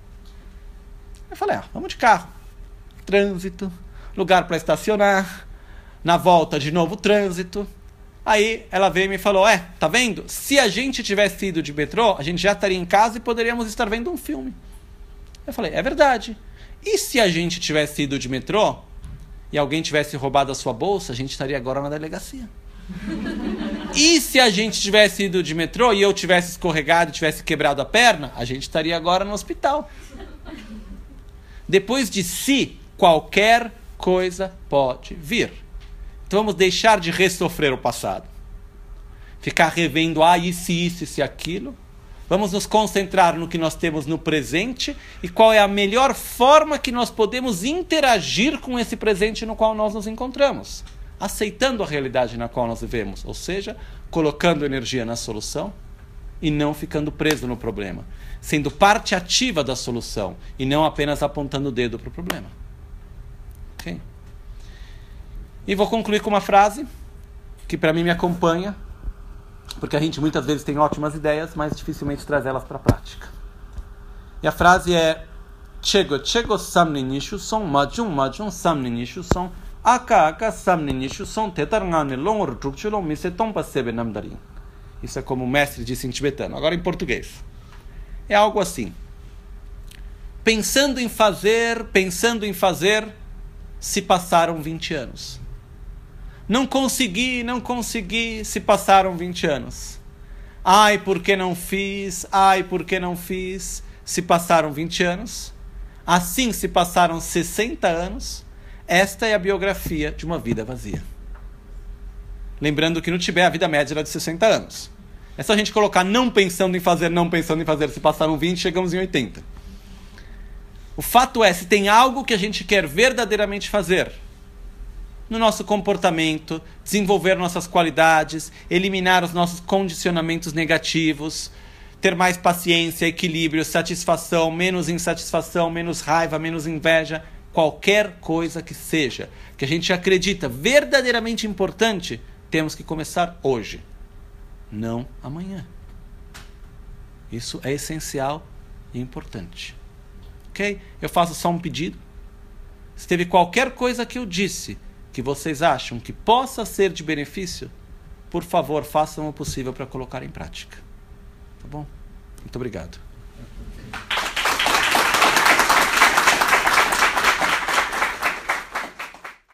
Eu falei, ah, vamos de carro. Trânsito, lugar para estacionar, na volta de novo trânsito. Aí ela veio e me falou, é, tá vendo? Se a gente tivesse ido de metrô, a gente já estaria em casa e poderíamos estar vendo um filme. Eu falei, é verdade. E se a gente tivesse ido de metrô e alguém tivesse roubado a sua bolsa, a gente estaria agora na delegacia. E se a gente tivesse ido de metrô e eu tivesse escorregado e tivesse quebrado a perna, a gente estaria agora no hospital. Depois de si, qualquer coisa pode vir. Então vamos deixar de ressofrer o passado. Ficar revendo, ah, isso, isso, isso e aquilo. Vamos nos concentrar no que nós temos no presente e qual é a melhor forma que nós podemos interagir com esse presente no qual nós nos encontramos. Aceitando a realidade na qual nós vivemos. Ou seja, colocando energia na solução e não ficando preso no problema. Sendo parte ativa da solução e não apenas apontando o dedo para o problema. Ok? E vou concluir com uma frase que para mim me acompanha, porque a gente muitas vezes tem ótimas ideias, mas dificilmente traz elas para a prática. E a frase é Chego, chego samni nishu son, majun, majun samni nishu son, aka, aka samni nishu son, tetarngane longor trukchulon, miseton pasebe namdarin. Isso é como o mestre disse em tibetano. Agora em português. É algo assim. Pensando em fazer, pensando em fazer, se passaram vinte anos. Não consegui, não consegui, se passaram vinte anos. Ai, por que não fiz? Ai, por que não fiz? Se passaram vinte anos. Assim se passaram sessenta anos. Esta é a biografia de uma vida vazia. Lembrando que no Tibete a vida média era de sessenta anos. É só a gente colocar não pensando em fazer, não pensando em fazer. Se passaram vinte, chegamos em oitenta. O fato é, se tem algo que a gente quer verdadeiramente fazer no nosso comportamento, desenvolver nossas qualidades, eliminar os nossos condicionamentos negativos, ter mais paciência, equilíbrio, satisfação, menos insatisfação, menos raiva, menos inveja, qualquer coisa que seja, que a gente acredita verdadeiramente importante, temos que começar hoje, não amanhã. Isso é essencial e importante. Ok? Eu faço só um pedido. Se teve qualquer coisa que eu disse que vocês acham que possa ser de benefício, por favor, façam o possível para colocar em prática. Tá bom? Muito obrigado.